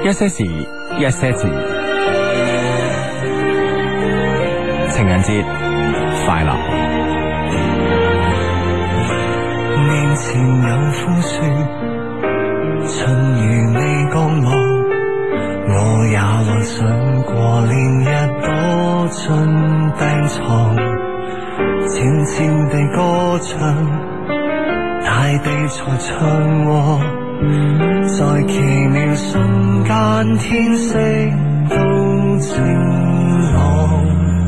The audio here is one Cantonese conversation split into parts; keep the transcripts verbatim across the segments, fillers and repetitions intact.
一些事，一些情，情人節快樂。 面前有枯樹，春如未降落，我也幻想過連日躲進病床，靜靜地歌唱，大地在唱和，在奇妙瞬間天色都晴朗，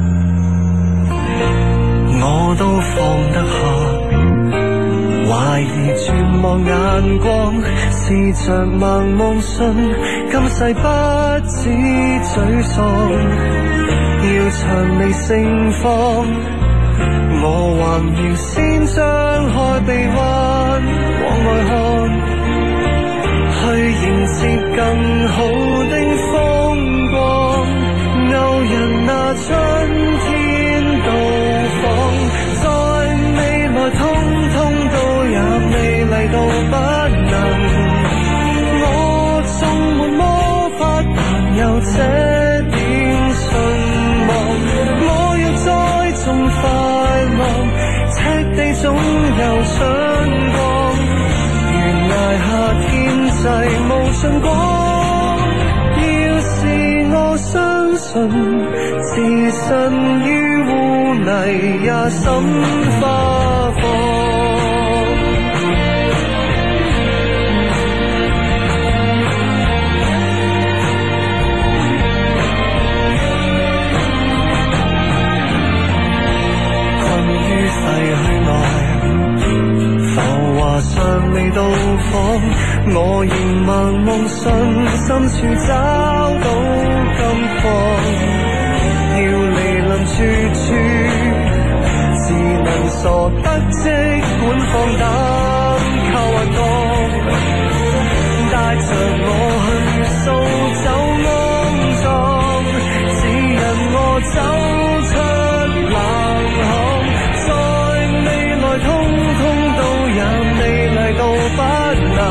我都放得下，懷疑絕望眼光，試着盲目信今世不止沮喪，要薔薇盛放，我還要先張開臂彎往外看，去迎接更好的風光，偶人那春天到訪，在未來通通都也美麗到不能，我縱沒魔法但有這點信望，我要栽種快樂，赤地總有春光，懸崖下天際無盡光，要是我相信置身於污泥也心花放，尚未到訪，我仍盲目信深處找到金礦，要離臨處處，只能傻得即管放膽靠滑降，帶着我去掃走骯髒，指引我走出冷巷，在未來通通都也美麗到不能，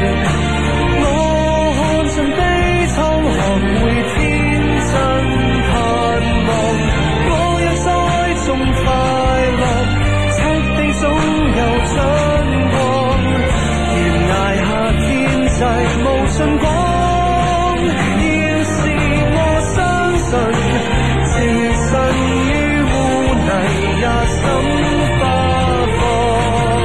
我看盡悲愴學會天真盼望，我要栽種快樂，赤地總有春光，懸崖下天際無盡光，要是我相信置身於污泥也心花放，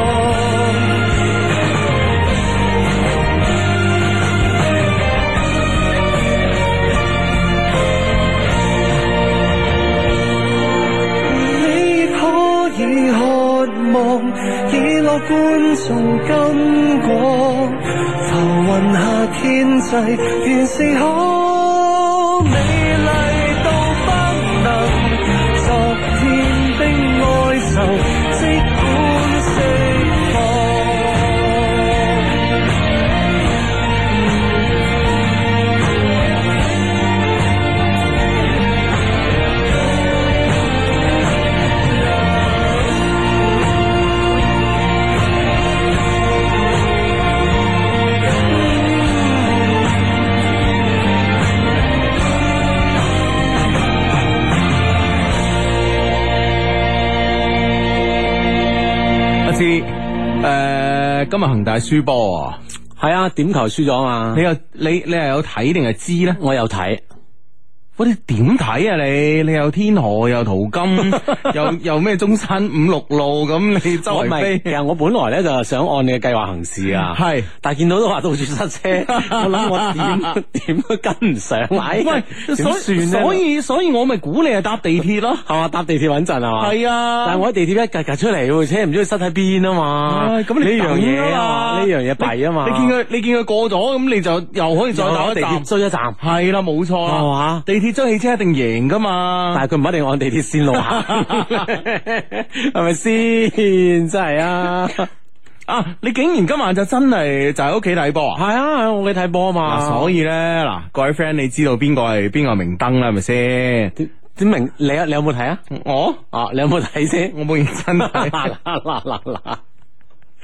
以樂觀做金果，浮雲下天際原是可美麗到不能，昨天的哀愁即管釋放， 誒、呃，今日恒大輸波啊， 係啊，點球輸咗嘛？ 你又你你係有睇定係知咧？ 我有睇。 喂，你點睇啊？你你又天河又淘金又又咩中山五六路咁，你周圍飛。 其實我本來咧就想按你嘅計劃行事啊，係，但係見到都話到處塞車，我諗我點點都跟唔上。 喂， 點算咧？ 所以所以我咪估你係搭地鐵咯， 係嘛？搭地鐵穩陣係嘛？係啊，但係我喺地鐵一格格出嚟，車唔知佢塞喺邊啊嘛。咁呢樣嘢啊，呢樣嘢弊啊嘛。你見佢你見佢過咗，咁你就又可以再打地鐵追一站。係啦，冇錯啦， 係嘛？ 地鐵追汽車一定贏噶嘛， 但係佢唔一定按地鐵線路行，係咪先？真係啊！ 啊！你竟然今晚就真係就喺屋企睇波啊？ 係啊，喺屋企睇波啊嘛。 所以咧，嗱，各位 friend，你知道邊個係邊個明燈啦？係咪先？ 點明？你啊，你有冇睇啊？ 我啊，你有冇睇先？ 我冇認真睇。 嗱嗱嗱嗱嗱！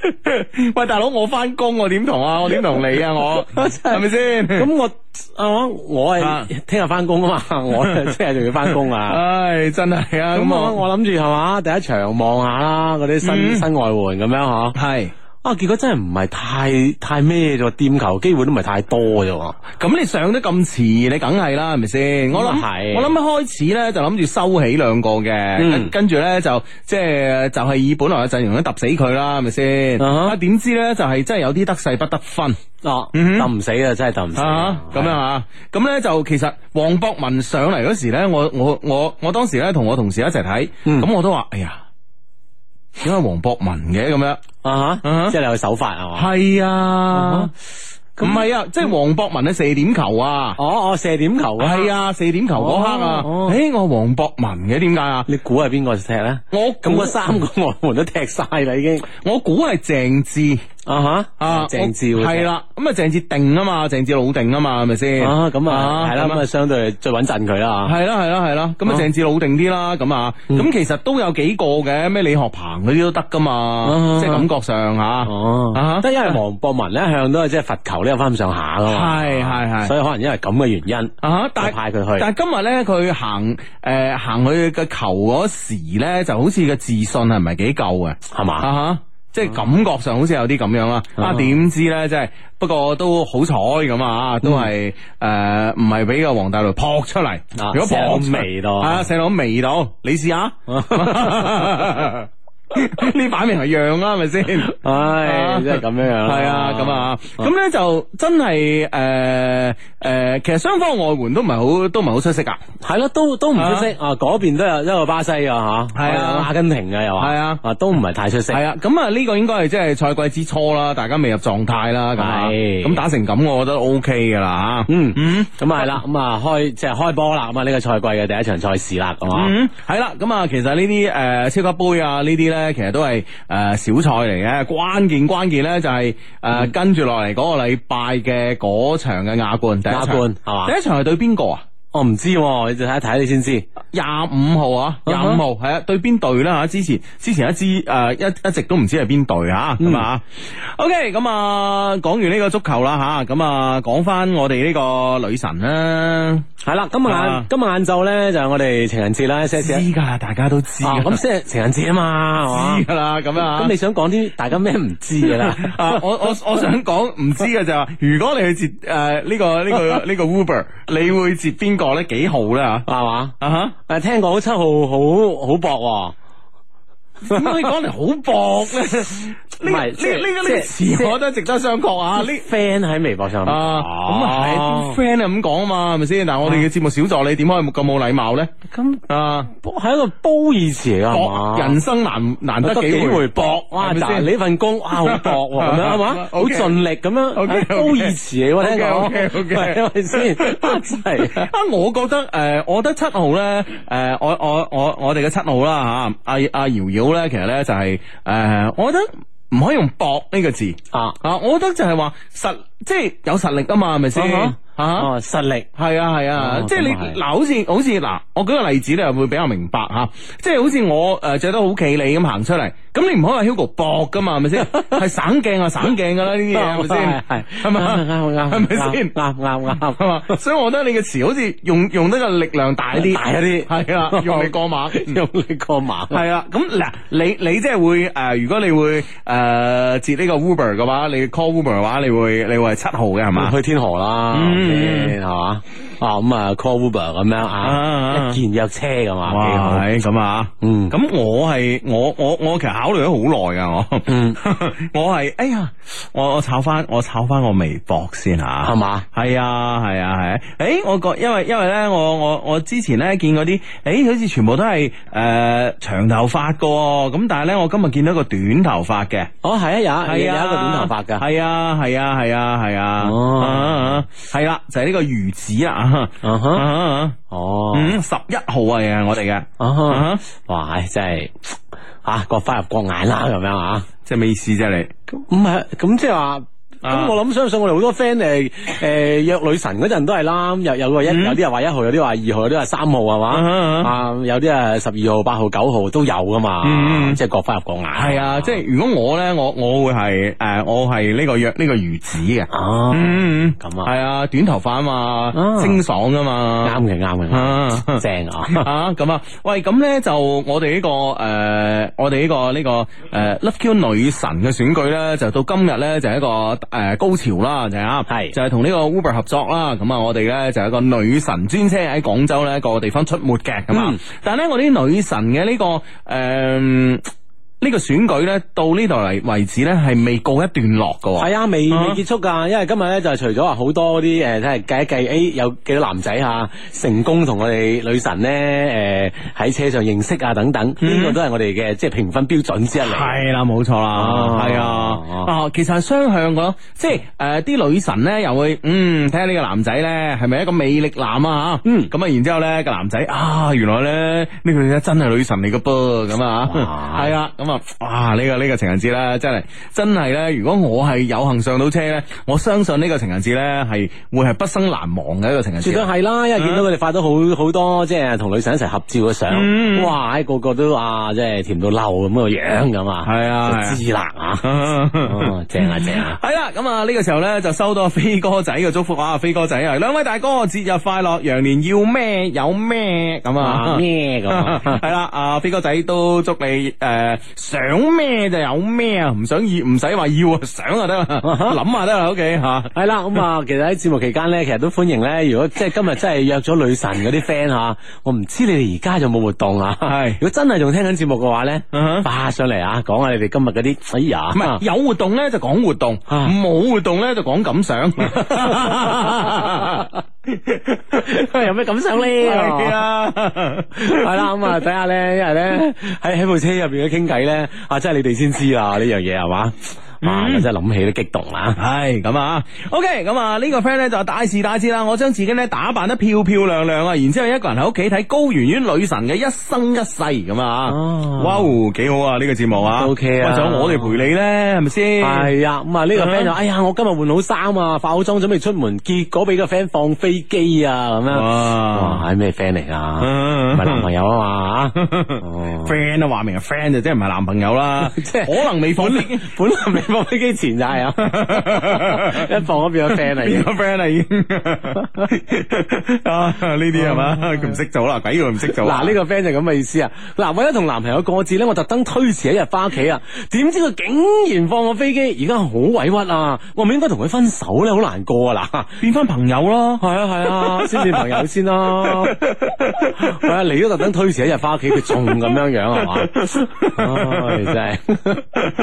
喂，大佬，我翻工我點同啊？我點同你啊？我係咪先？ 咁我啊，我係聽日翻工啊嘛，我聽日仲要翻工啊。 唉，真係啊！ 咁我我諗住係嘛，第一場望下啦，嗰啲新新外援咁樣嗬。 係。 啊！結果真係唔係太太咩啫，掂球機會都唔係太多啫。 咁你上得咁遲，你梗係啦，係咪先？我諗我諗一開始咧就諗住收起兩個嘅，嗯、跟住咧就即係就係、是、以本來嘅陣容咧揼死佢啦，係咪先？啊點知咧就係真係有啲得勢不得分。哦， 揼唔死啊，真係揼唔死。 咁樣啊？咁咧就其實黃博文上嚟嗰時咧，我我我我當時咧同我同事一齊睇，咁、嗯、我都話：哎呀！點解黃博文嘅咁樣啊？哈，即係你去手法係嘛？係啊，唔係啊，即係黃博文嘅射點球啊！哦哦，射點球啊！係啊，射點球嗰刻啊！誒，我黃博文嘅點解啊？你估係邊個踢咧？我咁個三個外援都踢晒啦，已經。我估係鄭智。啊哈啊鄭智係啦，咁啊鄭智定啊嘛，鄭智老定啊嘛，係咪先？啊咁啊係啦，咁啊相對最穩陣佢啦。係啦係啦係啦，咁啊鄭智老定啲啦，咁啊咁其實都有幾個嘅，咩李學鵬嗰啲都得噶嘛，即係感覺上吓。哦，得因為黃博文咧一向都係即係罰球呢有翻咁上下噶嘛。係係係，所以可能因為咁嘅原因啊，但係派佢去。但係今日咧佢行誒行去嘅球嗰時咧，就好似個自信係唔係幾夠嘅，係嘛啊？即係感覺上好似有啲咁樣啦，啊點知咧，即係不過都好彩咁啊，都係誒唔係俾個黃大雷撲出嚟，如果撲未到，係啊，射到未到，你試下。呢擺明係讓啦，係咪先？唉，即係咁樣樣。係啊，咁啊，咁咧就真係誒誒，其實雙方外援都唔係好，都唔係好出色噶。係咯，都都唔出色啊！嗰邊都有一個巴西啊，吓，係啊，阿根廷嘅又話，係啊，啊都唔係太出色。係啊，咁啊呢個應該係即係賽季之初啦，大家未入狀態啦，咁啊，咁打成咁，我覺得 O K 噶啦，吓。嗯嗯，咁啊係啦，咁啊開即係開波啦，咁啊呢個賽季嘅第一場賽事啦，係嘛。嗯，係啦，咁啊其實呢啲誒超級杯啊呢啲咧。其實都係誒、呃、小賽嚟嘅，關鍵關鍵咧就係、是、誒、呃嗯、跟住落嚟嗰個禮拜嘅嗰場嘅亞冠，第一場係嘛？第一場係對邊個啊？我唔知，你就睇一睇你先知。廿五號啊，廿五號係啊，對邊隊啦吓？之前之前一支誒一一直都唔知係邊隊吓，咁啊。OK，咁啊講完呢個足球啦吓，咁啊講翻我哋呢個女神啦。係啦，今日晏今日晏晝咧就係我哋情人節啦，知噶，大家都知。咁即係情人節啊嘛，知噶啦，咁啊。咁你想講啲大家咩唔知噶啦？我我我想講唔知嘅就係話，如果你去接誒呢個呢個呢個 Uber， 你會接邊個？咧幾號咧吓係嘛啊哈誒聽講七號好好薄點解你講嚟好薄咧？呢呢呢個呢詞我覺得值得商榷啊！呢 friend 喺微博上啊，咁啊係啲 friend 係咁講啊嘛，係咪先？但係我哋嘅節目小助理點可以咁冇禮貌咧？咁啊，係一個褒義詞嚟噶嘛？人生難難得幾回搏，哇！但係呢份工哇好搏咁樣係嘛？好盡力咁樣，褒義詞嚟喎，聽講係咪先？真係啊！我覺得誒，我覺得七號咧誒，我我我我哋嘅七號啦吓，阿阿瑤瑤咧，其實咧就係誒，我覺得。唔可以用搏呢個字啊啊！我覺得就係話實，即係有實力啊嘛，係咪先啊？哦，實力係啊係啊，即係你嗱，好似好似嗱，我舉個例子咧，會比較明白吓，即係好似我誒着得好企理咁行出嚟，咁你唔可以話 Hugo 搏噶嘛，係咪先？係省鏡啊省鏡噶啦呢啲嘢，係咪先？係係咪啱啱係咪先？啱啱啱係嘛？所以我覺得你嘅詞好似用用得個力量大啲，大一啲係啊，用力過猛，用力過猛係啊。咁嗱，你你即係會誒，如果你會誒接呢個 Uber 嘅話，你 call Uber 嘅話，你會你會係七號嘅係嘛？去天河啦。係嘛啊咁啊 call Uber 咁樣啊，一見約車噶嘛，幾好係咁啊，嗯，咁我係我我我其實考慮咗好耐噶我，嗯，我係哎呀，我我炒翻我炒翻我微博先吓，係嘛，係啊係啊係，誒，我覺因為因為咧我我我之前咧見嗰啲，誒，好似全部都係誒長頭髮噶，咁但係咧我今日見到個短頭髮嘅，哦係啊有係有一個短頭髮噶，係啊係啊係啊係啊，哦係啦。就係呢個魚子啊，哦，嗯，十一號啊，係我哋嘅，啊，哇，真係啊，各花入各眼啦，咁樣啊，即係咩意思啫？你唔係咁即係話咁我諗相信我哋好多 friend 誒誒約女神嗰陣都係啦，有有個一有啲人話一號，有啲話二號，有啲話三號係嘛，啊有啲啊十二號、八號、九號都有噶嘛，即係各花入各眼。 係啊，即係如果我咧，我我會係誒，我係呢個約呢個魚子嘅。 哦，咁啊， 係啊，短頭髮啊嘛，清爽啊嘛， 啱嘅啱嘅，正啊啊咁啊，喂，咁咧就我哋呢個誒，我哋呢個呢個誒 Love Q 女神嘅選舉咧，就到今日咧就係一個誒高潮啦，就係啊，係就係同呢個 Uber 合作啦。咁啊，我哋咧就係一個女神專車喺廣州咧各個地方出沒嘅咁啊。但係咧，我啲女神嘅呢個誒。呢個選舉咧到呢度嚟為止咧係未告一段落噶， 係啊，未未結束噶，因為今日咧就係除咗話好多啲誒，即係計一計，誒有幾多男仔吓成功同我哋女神咧誒喺車上認識啊等等，呢個都係我哋嘅即係評分標準之一嚟。係啦，冇錯啦，係啊，啊其實係雙向噶咯，即係誒啲女神咧又會嗯睇下呢個男仔咧係咪一個魅力男啊吓，嗯咁啊然之後咧個男仔啊原來咧呢個女仔真係女神嚟噶噃咁啊，係啊咁啊。哇！呢、這個呢、這個情人節咧，真係真係咧。如果我係有幸上到車咧，我相信呢個情人節咧係會係畢生難忘嘅一個情人節。絕對係啦，因為見到佢哋發咗好好多即係同女神一齊合照嘅相，嗯、哇！個個都啊，即係甜到漏咁個樣咁啊，係啊，就知啦啊，正啊正啊！係啦，咁啊呢個時候咧就收到飛哥仔嘅祝福啊，飛哥仔啊，兩位大哥節日快樂，羊年要咩有咩咁啊咩咁啊，係啦，啊飛哥仔都祝你誒。呃想咩就有咩啊，唔想要唔使話要啊，想就得啦，諗下得啦，OK 吓。係啦，咁啊，其實喺節目期間咧，其實都歡迎咧。如果即係今日真係約咗女神嗰啲 friend 吓，我唔知你哋而家有冇活動啊？係，如果真係仲聽緊節目嘅話咧，發上嚟啊，講下你哋今日嗰啲。哎呀，唔係有活動咧就講活動，冇活動咧就講感想。有咩感想咧？係啊，係啦，咁啊睇下咧，因為咧喺喺部車入邊嘅傾偈咧，啊，真係你哋先知啊呢樣嘢係嘛？哇！我真係諗起都激動啦，係咁啊 ！OK， 咁啊呢個 friend 咧就大事大事啦！我將自己咧打扮得漂漂亮亮啊，然之後一個人喺屋企睇高圓圓女神嘅一生一世咁啊！哇，幾好啊！呢個節目啊 ，OK 啊！仲有我哋陪你咧，係咪先？係啊！咁啊呢個 friend 就哎呀，我今日換好衫啊，化好妝準備出門，結果俾個 friend 放飛機啊咁樣。哇！係咩 friend 嚟啊？唔係男朋友啊嘛？friend 啊，話明係 friend 就即係唔係男朋友啦，即係可能未放飛機，本來未。放飛機前就係啊，一放嗰邊個 friend 嚟，變個 friend 啦已經啊呢啲係嘛，佢唔識做啦，鬼佢唔識做。嗱呢個 friend 就咁嘅意思啊。嗱為咗同男朋友過節咧，我特登推遲一日翻屋企啊，點知佢竟然放我飛機，而家好委屈啊！我唔應該同佢分手咧，好難過啊！嗱，變翻朋友咯，係啊係啊，先變朋友先咯。係啊，你都特登推遲一日翻屋企，佢仲咁樣樣係嘛？唉，真係。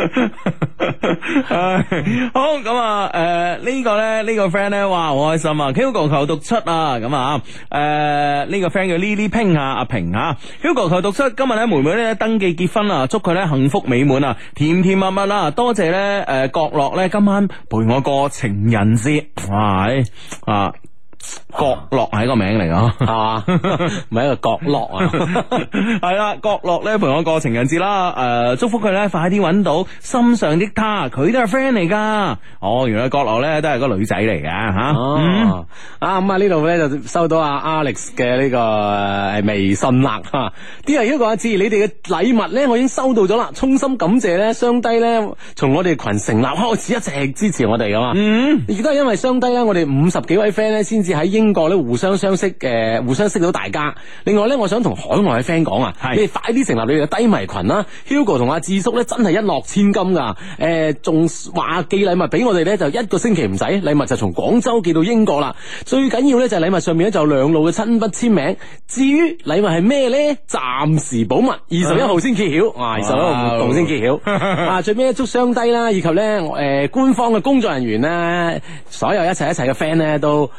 好咁啊！誒、呃，這個、呢個咧，呢個 friend 咧，哇，好開心啊 ！Hugo 求讀出啊！咁啊，誒、呃，呢、這個 friend 叫 Lily Ping 啊，阿平啊 ，Hugo 求讀出，今日咧妹妹咧登記結婚啊，祝佢咧幸福美滿啊，甜甜蜜蜜啦！多謝咧，誒、呃，角落咧今晚陪我過情人節，哇！啊。角落係一個名嚟噶，係嘛？唔係一個角落啊，係啦，角落咧陪我過情人節啦。誒、呃，祝福佢咧快啲搵到心上的他，佢都係 friend 嚟噶。哦，原來角落咧都係個女仔嚟嘅吓。哦、嗯，啊咁啊呢度咧就收到阿 Alex 嘅呢個誒微信啦。啲人如果話知你哋嘅禮物咧，我已經收到咗啦，衷心感謝咧雙低咧，從我哋群成立開始一直支持我哋噶嘛。嗯，亦都係因為雙低咧，我哋五十幾位 friend 咧先至喺英國咧互相相識，誒、呃，互相識到大家。另外咧，我想同海外嘅 friend 講啊，是你哋快啲成立你哋嘅低迷群啦。Hugo 同阿智叔咧真係一諾千金噶，誒、呃，仲話寄禮物俾我哋咧就一個星期唔使，禮物就從廣州寄到英國啦。最緊要咧就係禮物上面咧就兩路嘅親筆簽名。至於禮物係咩咧，暫時保密，二十一號先揭曉，啊，二十一號活動先揭曉。啊，最尾祝雙低啦，以及咧誒、呃、官方嘅工作人員咧，所有一齊一齊嘅 friend 咧都新年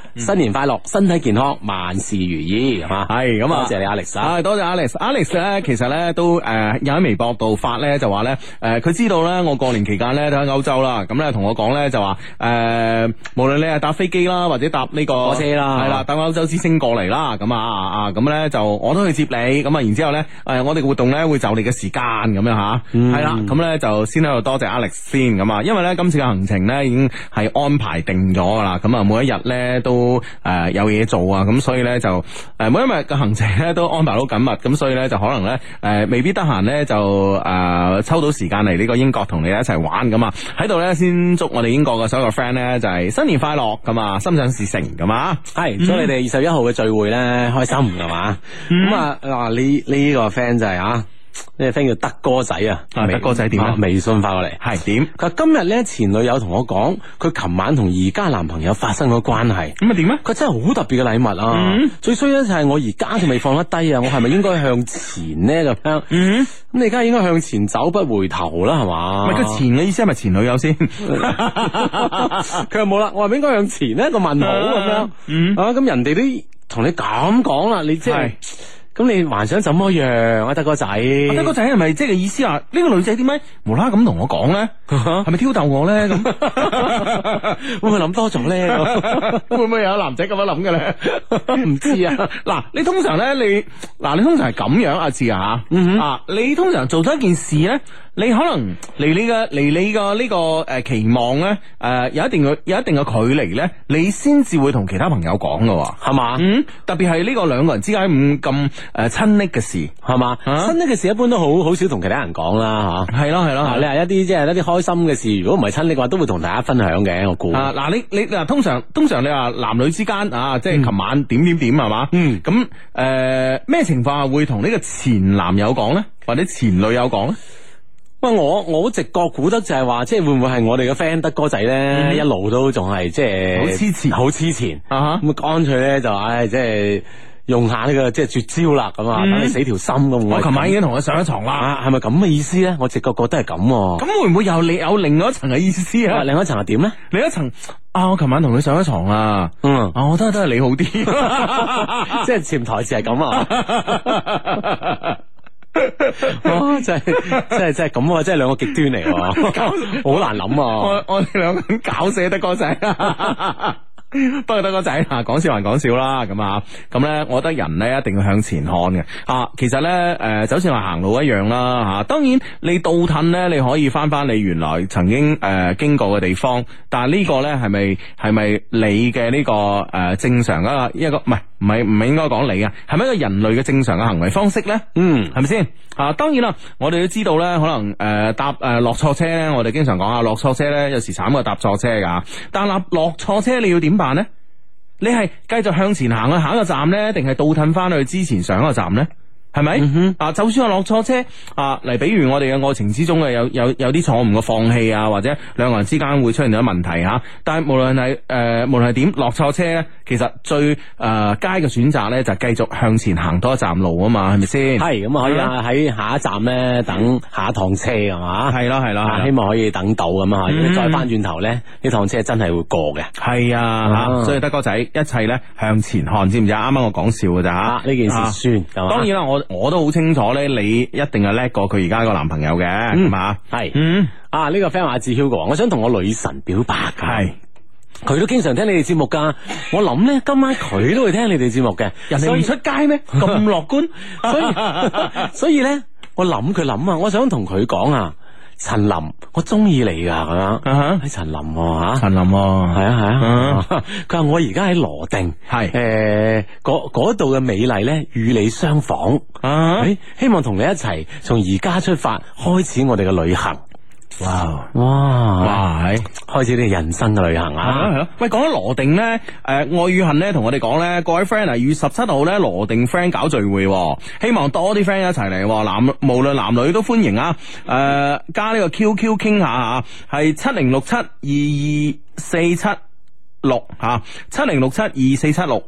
年快樂，身體健康，萬事如意，係嘛？ 係咁啊， 多謝你 Alex 啊， 多謝 Alex，Alex 咧其實咧都誒有喺微博度發咧就話咧誒佢知道咧我過年期間咧都喺歐洲啦，咁咧同我講咧就話誒無論你係搭飛機啦或者搭呢個火車啦， 係啦搭歐洲之星過嚟啦，咁啊啊咁咧就我都去接你，咁啊然之後咧誒我哋嘅活動咧會就你嘅時間咁樣吓，係啦，咁咧就先喺度多謝 Alex 先咁啊，因為咧今次嘅行程咧已經係安排定咗噶啦，咁啊每一日咧都誒有嘢做啊，咁所以咧就誒每一日嘅行程咧都安排到緊密，咁所以咧就可能咧誒未必得閒咧就誒抽到時間嚟呢個英國同你一齊玩咁啊，喺度咧先祝我哋英國嘅所有嘅 friend 咧就係新年快樂咁啊，心想事成咁啊，係祝你哋二十一號嘅聚會咧開心係嘛，咁啊嗱呢呢個 friend 就係啊。呢個 friend 叫德哥仔啊， 德哥仔點啊？ 微信發過嚟係點？ 佢話今日咧前女友同我講，佢琴晚同而家男朋友發生咗關係。 咁啊點咧？ 佢真係好特別嘅禮物啊！嗯、最衰咧就係我而家仲未放得低啊！我係咪應該向前咧咁樣？嗯，咁你而家應該向前走不回頭啦，係嘛？ 唔係佢前嘅意思係咪前女友先？ 佢又冇啦，我係咪應該向前呢？個問號咁樣。嗯啊，咁人哋都同你咁講啦，你即係。咁你還想怎麼樣啊，德哥仔？ 德哥仔係咪即係意思話呢、這個女仔點解無啦啦咁同我講咧？係咪挑逗我咧？咁會唔會諗多咗咧？會唔會有男仔咁樣諗嘅咧？唔知啊。嗱，你通常咧，你嗱，你通常係咁樣阿志啊，嗯、啊，你通常做咗一件事咧，你可能離你嘅離你嘅呢個誒期望咧，誒、呃、有一定嘅有一定嘅距離咧，你先至會同其他朋友講嘅，係嘛？嗯，特別係呢個兩個人之間咁咁。誒，親昵嘅事係嘛？親昵嘅事一般都好好少同其他人講啦，吓係咯係咯。你係一啲即係一啲開心嘅事，如果唔係親昵嘅話，都會同大家分享嘅。我估啊，嗱，你你嗱，通常通常你話男女之間啊，即係琴晚點點點係嘛？嗯，咁誒咩情況下會同呢個前男友講咧，或者前女友講咧？ 喂，我我直覺估得就係話，即係會唔會係我哋嘅 friend 德哥仔咧，嗯、一路都仲係即係好黐纏， 好黐纏啊！咁乾脆咧就唉，即係。用下呢、這個即係絕招啦，咁啊，等你死條心咁。 我琴晚已經同佢上咗床啦， 係咪咁嘅意思咧？我直覺覺得係咁。 咁會唔會有你有另外一層嘅意思啊？ 另外一層係點咧？ 另一層啊，我琴晚同佢上咗床啊，嗯，啊，我覺得都係你好啲， 即係潛台詞係咁啊。哦，真係真係真係咁啊！真係兩個極端嚟，好難諗啊！ 我我哋兩個人搞死得哥仔。不過德哥仔啊，講笑還講笑啦，咁啊，咁咧，我覺得人咧一定要向前看嘅啊。其實咧，誒、呃，就好似話行路一樣啦，吓、啊。當然你倒褪咧，你可以翻翻你原來曾經誒、呃、經過嘅地方，但係呢個咧係咪係咪你嘅呢、這個誒、呃、正常嘅一個唔係唔係唔係應該講你啊？係咪一個人類嘅正常嘅行為方式咧？嗯，係咪先啊？當然啦，我哋都知道咧，可能誒、呃、搭誒落錯車咧，我哋經常講啊，落錯車咧有時慘過搭錯車噶。但係落錯車你要點辦咧？你係繼續向前行去下一個站咧，定係倒褪翻去之前上一個站咧？係咪？嗯、哼啊，就算我落錯車啊，嚟，比如我哋嘅愛情之中嘅有有有啲錯誤嘅放棄啊，或者兩個人之間會出現咗問題吓、啊。但係無論係誒，無論係點落錯車咧，其實最誒佳嘅選擇咧就係繼續向前行多一站路啊嘛，係咪先？係咁啊，可以啊，喺下一站咧等下一趟車係嘛？係咯係咯，希望可以等到咁啊。如果再翻轉頭咧，呢趟車真係會過嘅。係啊，吓、啊，所以德哥仔，一切咧向前看，知唔知啊？啱啱我講笑嘅咋吓？呢、啊、件事算，啊、當然啦，我。我都好清楚咧，你一定係叻過佢而家個男朋友嘅，係嘛、嗯？係，嗯，啊呢、這個 friend 話志 Hugo，我想同我女神表白噶，係，佢都經常聽你哋節目噶，我諗咧今晚佢都會聽你哋節目嘅，人哋唔出街咩？咁樂觀，所以所以咧，我諗佢諗啊，我想同佢講啊。陳琳，我中意你噶咁樣，喺陳琳吓，陳琳係啊係啊，佢話我而家喺羅定，係誒嗰嗰度嘅美麗咧與你相仿，誒希望同你一齊從而家出發開始我哋嘅旅行。哇哇哇！開始你人生嘅旅行啊！係咯，喂，講咗羅定咧，誒、呃，愛與恨咧，同我哋講咧，各位 friend 啊，二月十七號咧，羅定 friend 搞聚會，希望多啲 friend 一齊嚟，男無論男女都歡迎啊！誒、呃，加呢個 Q Q 傾下吓，係七零六七二二四七六吓，七零六七二四七六。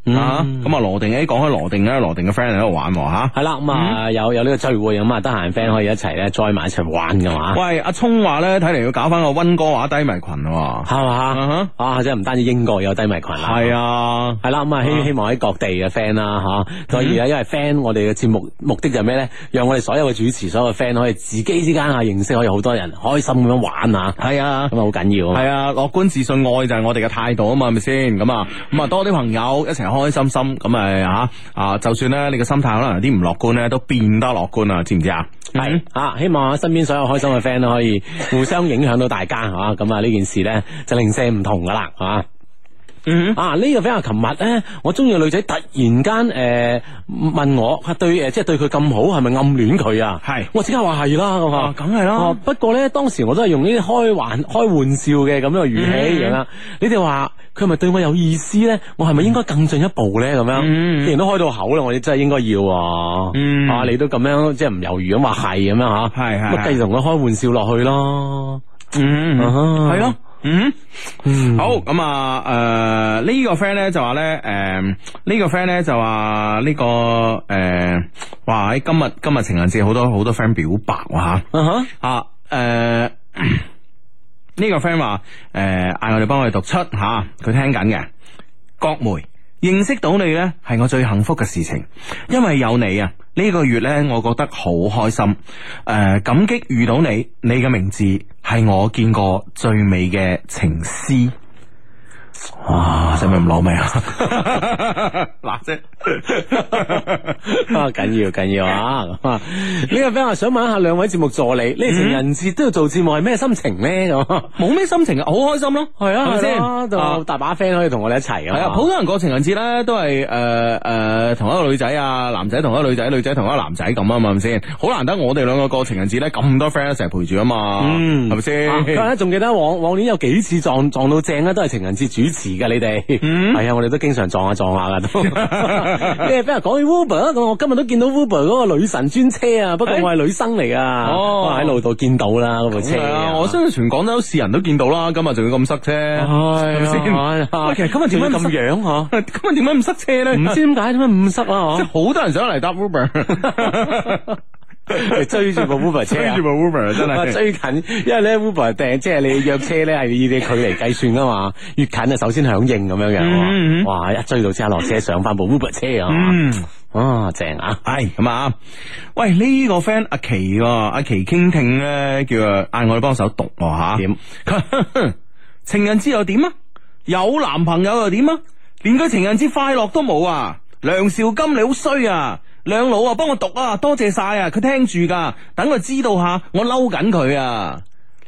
啊，咁啊羅定，誒講開羅定咧，羅定嘅 friend 喺度玩吓， 係啦，咁啊有有呢個聚會咁啊，得閒 friend 可以一齊咧 join 埋一齊玩噶嘛。 喂，阿聰話咧，睇嚟要搞翻個溫哥華低迷群喎， 係嘛？啊，即係唔單止英國有低迷群啦， 係啊， 係啦，咁啊希希望喺各地嘅 friend 啦吓，所以咧因為 friend 我哋嘅節目目的就係咩咧？讓我哋所有嘅主持、所有嘅 friend 可以自己之間啊認識，可以好多人開心咁樣玩啊，係啊，咁啊好緊要，係啊，樂觀自信愛就係我哋嘅態度啊嘛，係咪先？咁啊咁啊多啲朋友一齊開開心心，咁啊吓啊，就算咧你個心態可能有啲唔樂觀咧，都變得樂觀啊，知唔知啊？係啊，希望身邊所有開心嘅 friend 都可以互相影響到大家吓，咁啊呢件事咧就零舍唔同噶啦，係嘛？嗯啊呢、這個 friend 琴日咧，我中意嘅女仔突然間誒、呃、問我，對誒即係對佢咁好，係咪暗戀佢啊？係，我即刻話係啦，咁啊，梗係啦。不過咧當時我都係用呢啲開玩開玩笑嘅咁樣嘅語氣咁樣。嗯、你哋話佢係咪對我有意思咧？我係咪應該更進一步咧？咁樣，嗯、既然都開到口啦，我哋真係應該要。嗯、啊，你都咁樣即係唔猶豫咁話係咁樣吓，係係，咁繼續同佢開玩笑落去咯。嗯，係咯。嗯，嗯好咁啊，誒、呃、呢、這個 friend 咧就話咧，誒、呃、呢、這個 friend 咧就話呢、這個誒、呃，哇喺今日今日情人節好多好多 friend 表白吓，嗯哼啊誒。呃呢個 friend 話誒嗌我哋幫佢讀出吓，佢、啊、聽緊嘅。郭梅，認識到你呢係我最幸福嘅事情，因為有你啊，呢、這個月呢，我覺得好開心。誒、呃，感激遇到你，你嘅名字係我見過最美嘅情詩。哇，使唔使咁攞命啊？嗱啫，啊緊要緊要啊！呢個 friend 話想問一下兩位節目助理，呢情人節都要做節目，係咩心情咧？咁冇咩心情啊，好開心咯，係啊，係咪先？就大把 friend 可以同我哋一齊啊！係啊，普通人過情人節咧都係誒誒同一個女仔啊，男仔同一個女仔，女仔同一個男仔咁啊嘛，係咪先？好難得我哋兩個過情人節咧，咁多 friend 一齊陪住啊嘛，嗯，係咪先？佢話咧仲記得往往年有幾次撞撞到正咧，都係情人節主持嘅你哋，係啊，我哋都經常撞下撞下噶都。咩？俾人講起 Uber，咁我今日都見到 Uber 嗰個女神專車啊，不過我係女生嚟噶，哦，喺路度見到啦嗰部車。我相信全廣州市人都見到啦，今日仲要咁塞車，係咪先？喂，其實今日點解咁樣吓？今日點解咁塞車咧？唔知點解點解咁塞啊？即係好多人想嚟搭 Uber。追住部 Uber 車，追住部 Uber 真係追近，因為咧 Uber 訂即係你約車咧係以你距離計算噶嘛，越近啊首先響應咁樣嘅，哇一追到即刻落車上翻部 Uber 車啊，啊正啊，係咁啊，喂呢個 friend 阿琪阿琪傾聽咧叫嗌我哋幫手讀吓，點情人節又點啊？有男朋友又點啊？連個情人節快樂都冇啊！梁兆金你好衰啊！兩老啊，幫我讀啊，多謝晒啊！佢聽住噶，等佢知道下，我嬲緊佢啊！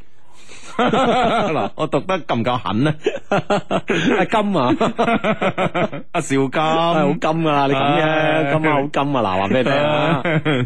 嗱，我讀得夠唔夠狠呢？阿金啊，阿兆金，好金啊！你咁嘅，今晚好金啊！嗱，話俾你聽啊！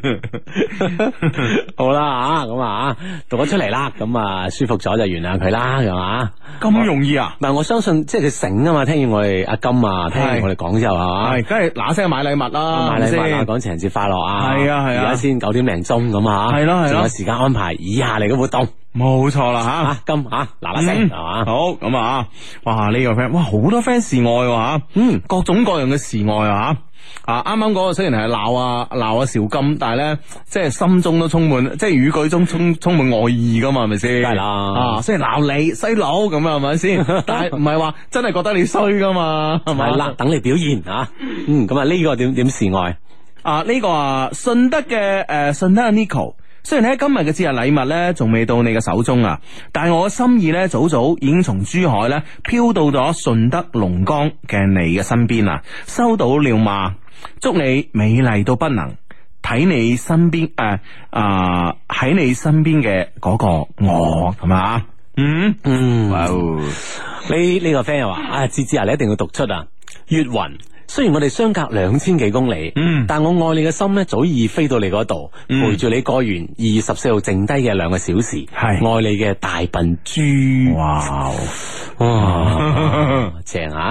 好啦吓，咁啊，讀咗出嚟啦，咁啊舒服咗就原諒佢啦，係嘛？咁容易啊？嗱，我相信即係佢醒啊嘛，聽完我哋阿金啊，聽完我哋講之後係嘛，係，梗係嗱聲買禮物啦，買禮物啊，講情人節快樂啊，係啊係啊，而家先九點零鐘咁啊，係咯係咯，仲有時間安排以下嚟嘅活動。冇錯啦吓，金吓嗱嗱聲係嘛，好咁啊，哇呢個 friend 哇好多 friend 示愛吓，嗯各種各樣嘅示愛啊吓，啊啱啱嗰個雖然係鬧啊鬧啊邵金，但係咧即係心中都充滿即係語句中充充滿愛意噶嘛，係咪先？係啦，啊雖然鬧你細佬咁啊，係咪先？但係唔係話真係覺得你衰噶嘛，係咪？係啦，等你表現啊，嗯咁啊呢個點點示愛啊呢個啊順德嘅誒順德嘅 Nico。雖然喺今日嘅節日禮物咧，仲未到你嘅手中啊，但係我嘅心意咧，早早已經從珠海咧飄到咗順德龍崗嘅你嘅身邊啦。收到了嘛？祝你美麗到不能睇你身邊誒啊喺你身邊嘅嗰個我，係嘛？嗯嗯，哇！呢呢個 friend 又話啊，芝芝啊，你一定要讀出啊，月雲。雖然我哋相隔兩千幾公里，嗯，但我愛你嘅心咧早已飛到你嗰度，嗯、陪住你過完二月十四號剩低嘅兩個小時，係愛你嘅大笨豬，哇哇，正啊！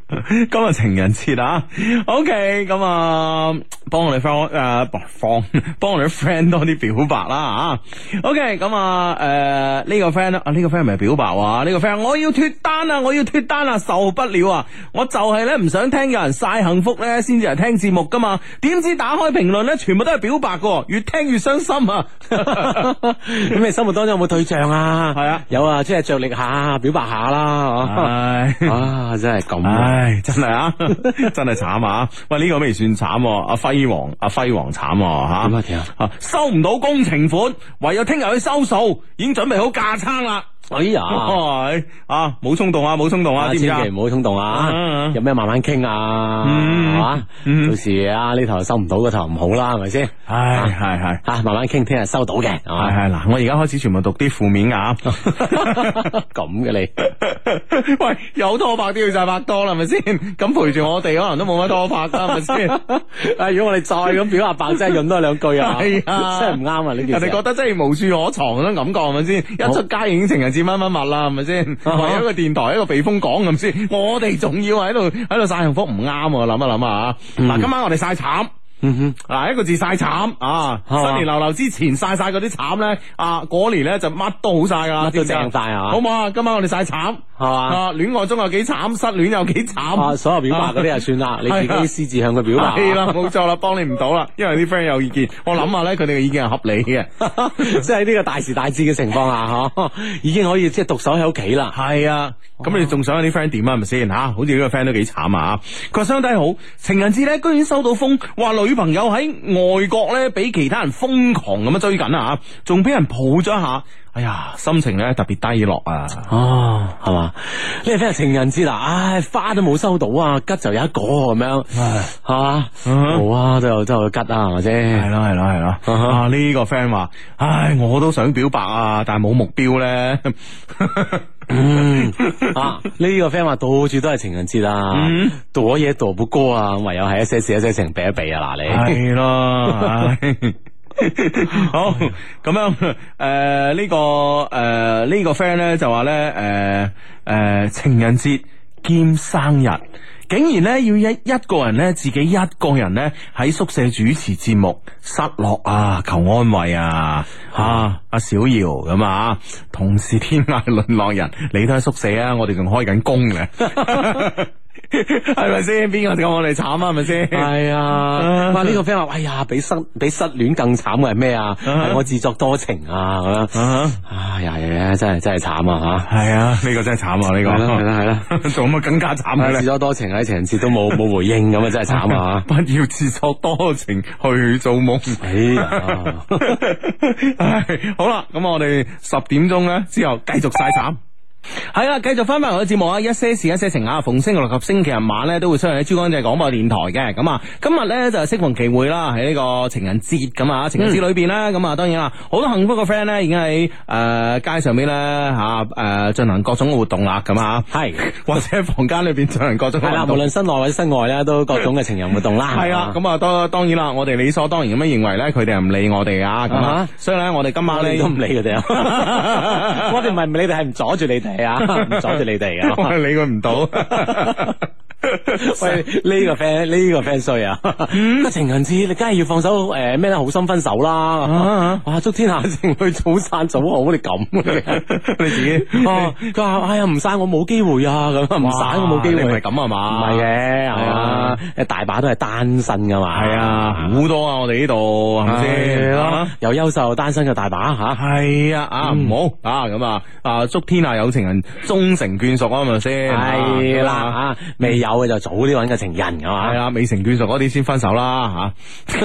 今日情人節啊 ，OK， 咁啊，幫我哋 friend 誒，放幫我哋 friend 多啲表白啦啊 ，OK， 咁啊，誒、呃、呢、這個 friend 啊，呢、這個 friend 咪表白啊，呢、這個 friend 我要脫單啊，我要脫單啊，受不了啊，我就係咧唔想聽有人晒幸福咧，先至嚟聽節目噶嘛，點知打開評論咧，全部都係表白噶，越聽越傷心啊！ 咁你生活當中有冇對象啊？係啊，有啊，即係着力下，表白下啦，唉，啊，真係咁， 唉，真係啊，真係慘啊！喂，呢、這個未算慘，阿輝王，阿輝王慘吓， 點啊點啊， 收唔到工程款，唯有聽日去收數，已經準備好架撐啦。 哎呀， 啊，冇衝動啊，冇衝動啊， 千祈唔好衝動啊！有咩慢慢傾啊，係嘛？到時啊呢頭收唔到，嗰頭唔好啦，係咪先？ 係係係， 吓慢慢傾，聽日收到嘅。係係嗱，我而家開始全部讀啲負面啊， 咁嘅你， 喂，有拖拍都要晒拍拖啦，係咪先？咁陪住我哋，可能都冇乜拖拍啦，係咪先？ 啊，如果我哋再咁表下白，真係潤多兩句啊，係啊，真係唔啱啊！呢件事， 人哋覺得真係無處可藏嗰種感覺，係咪先？一出街已經情人節乜乜物啦，係咪先？為咗一個電台，一個避風港咁先，我哋仲要喺度喺度晒幸福，唔啱啊！諗一諗啊！嗱，今晚我哋晒慘。嗯哼，嗱一個字晒慘啊！新年流流之前晒晒嗰啲慘咧，啊嗰年咧就乜都好晒噶啦， 都正晒啊！ 好唔好啊？今晚我哋晒慘係嘛？啊，戀愛中有幾慘，失戀有幾慘啊！所有表白嗰啲就算啦，你自己私自向佢表白係啦，冇錯啦，幫你唔到啦，因為啲 friend 有意見，我諗下咧，佢哋嘅意見係合理嘅， 即係呢個大時大節嘅情況下，嗬，已經可以即係獨守喺屋企啦。 係啊，咁你仲想有啲 friend 點啊？係咪先吓？好似呢個 friend 都幾慘啊！佢話相低好，情人節咧居然收到風，話女朋友喺外國咧，俾其他人瘋狂咁樣追緊啊，仲俾人抱咗一下，哎呀，心情咧特別低落啊！ 哦，係嘛？呢個 friend 係情人節啦，唉，花都冇收到啊，吉就有一個咁樣，係嘛？好啊，都有都有吉啊，係咪先？ 係咯係咯係咯，啊呢個 friend 話，唉，我都想表白啊，但係冇目標咧。 嗯啊，呢個 friend 話到處都係情人節啊，嗯、躲嘢躲不過啊，唯有係一些事一些情避一避啊，嗱你係咯， 好咁樣誒，呢、呃這個誒、呃這個、呢個 friend 咧就話咧誒誒情人節兼生日。竟然咧要一一個人咧自己一個人咧喺宿舍主持節目，失落啊，求安慰啊！吓阿、啊、小姚咁啊，同是天涯淪落人，你都喺宿舍啊，我哋仲開緊工嘅。係咪先？邊個咁我哋慘啊？係咪先？ 係啊！哇！呢個 friend 話：哎呀，比失比失戀更慘嘅係咩啊？係我自作多情啊！咁樣啊呀呀！真係真係慘啊！吓係啊！ 呢個真係慘啊！呢個係啦係啦，做乜更加慘啊？ 自作多情喺情人節都冇冇回應咁啊！真係慘啊！ 不要自作多情去做夢。哎呀！唉，好啦，咁我哋十點鐘咧之後繼續晒慘。係啦，繼續翻翻我嘅節目啊！一些事一些情啊，逢星期六及星期日晚咧都會出現喺珠江經濟廣播電台嘅。咁啊，今日咧就係適逢其會啦，喺呢個情人節咁啊，情人節裏邊咧，咁啊、嗯，當然啦，好多幸福嘅 friend 咧已經喺誒、呃、街上邊咧吓誒進行各種嘅活動啦，咁啊，係或者喺房間裏邊進行各種活動。係啦，無論室內或者室外咧，都各種嘅情人活動啦。 係啊，咁啊，當當然啦，我哋理所當然咁樣認為咧，佢哋係唔理我哋啊，咁啊，所以咧，我哋今晚咧都唔理佢哋啊。我哋唔係唔理你哋，係唔阻住你哋。係啊，唔阻住你哋啊， 我理佢唔到。 喂，呢個 friend 呢個 friend 衰啊！嗯，情人節你梗係要放手誒咩咧？好心分手啦！哇，祝天下情侶早散早好，你咁你自己哦，佢話哎呀唔散我冇機會啊，咁唔散我冇機會， 唔係咁啊嘛？ 唔係嘅，係啊，大把都係單身噶嘛， 係啊，好多啊！我哋呢度係咪先？ 有優秀單身嘅大把吓， 係啊啊唔好啊咁啊啊！祝天下有情人終成眷屬啊，係咪先？ 係啦啊，未有嘅就早啲揾個情人係嘛， 係啊，未成眷屬嗰啲先分手啦吓。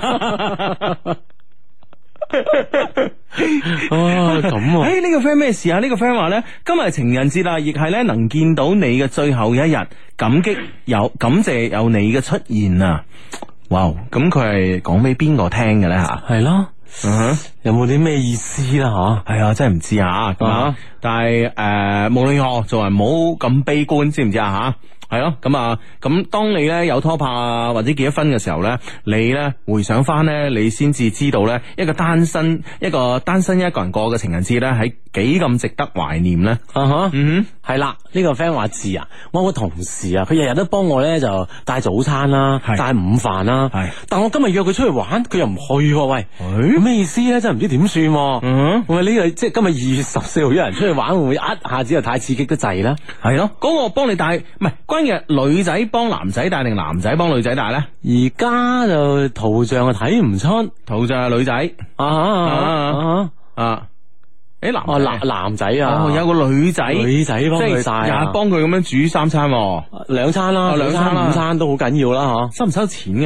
哦咁啊！ 誒，呢個 friend 咩事啊？呢個 friend 話咧，今日係情人節啦，亦係咧能見到你嘅最後一日，感激有感謝有你嘅出現啊！哇，咁佢係講俾邊個聽嘅咧吓？ 係咯。 嗯， 有冇啲咩意思啦？吓， 係啊，真係唔知啊。咁啊，但係誒，無論如何，做人唔好咁悲觀，知唔知啊？吓。係咯，咁啊，咁當你咧有拖拍啊，或者結咗婚嘅時候咧，你咧回想翻咧，你先至知道咧，一個單身一個單身一個人過嘅情人節咧，係幾咁值得懷念咧。 啊哈， 嗯哼，係啦，呢個 friend 話字啊，我有個同事啊，佢日日都幫我咧就帶早餐啦，帶午飯啦，係，但我今日約佢出去玩，佢又唔去，喂，咁咩意思咧？真係唔知點算。嗯，喂，呢個即係今日二月十四號一人出去玩，會唔會一下子又太刺激得滯咧？ 係咯，嗰個幫你帶，唔係關鍵女仔幫男仔帶定男仔幫女仔帶咧？ 而家就圖像啊睇唔出， 圖像係女仔啊啊啊！誒男哦男男仔啊， 有個女仔女仔幫佢帶， 日日幫佢咁樣煮三餐， 兩餐啦，兩餐午餐都好緊要啦，吓， 收唔收錢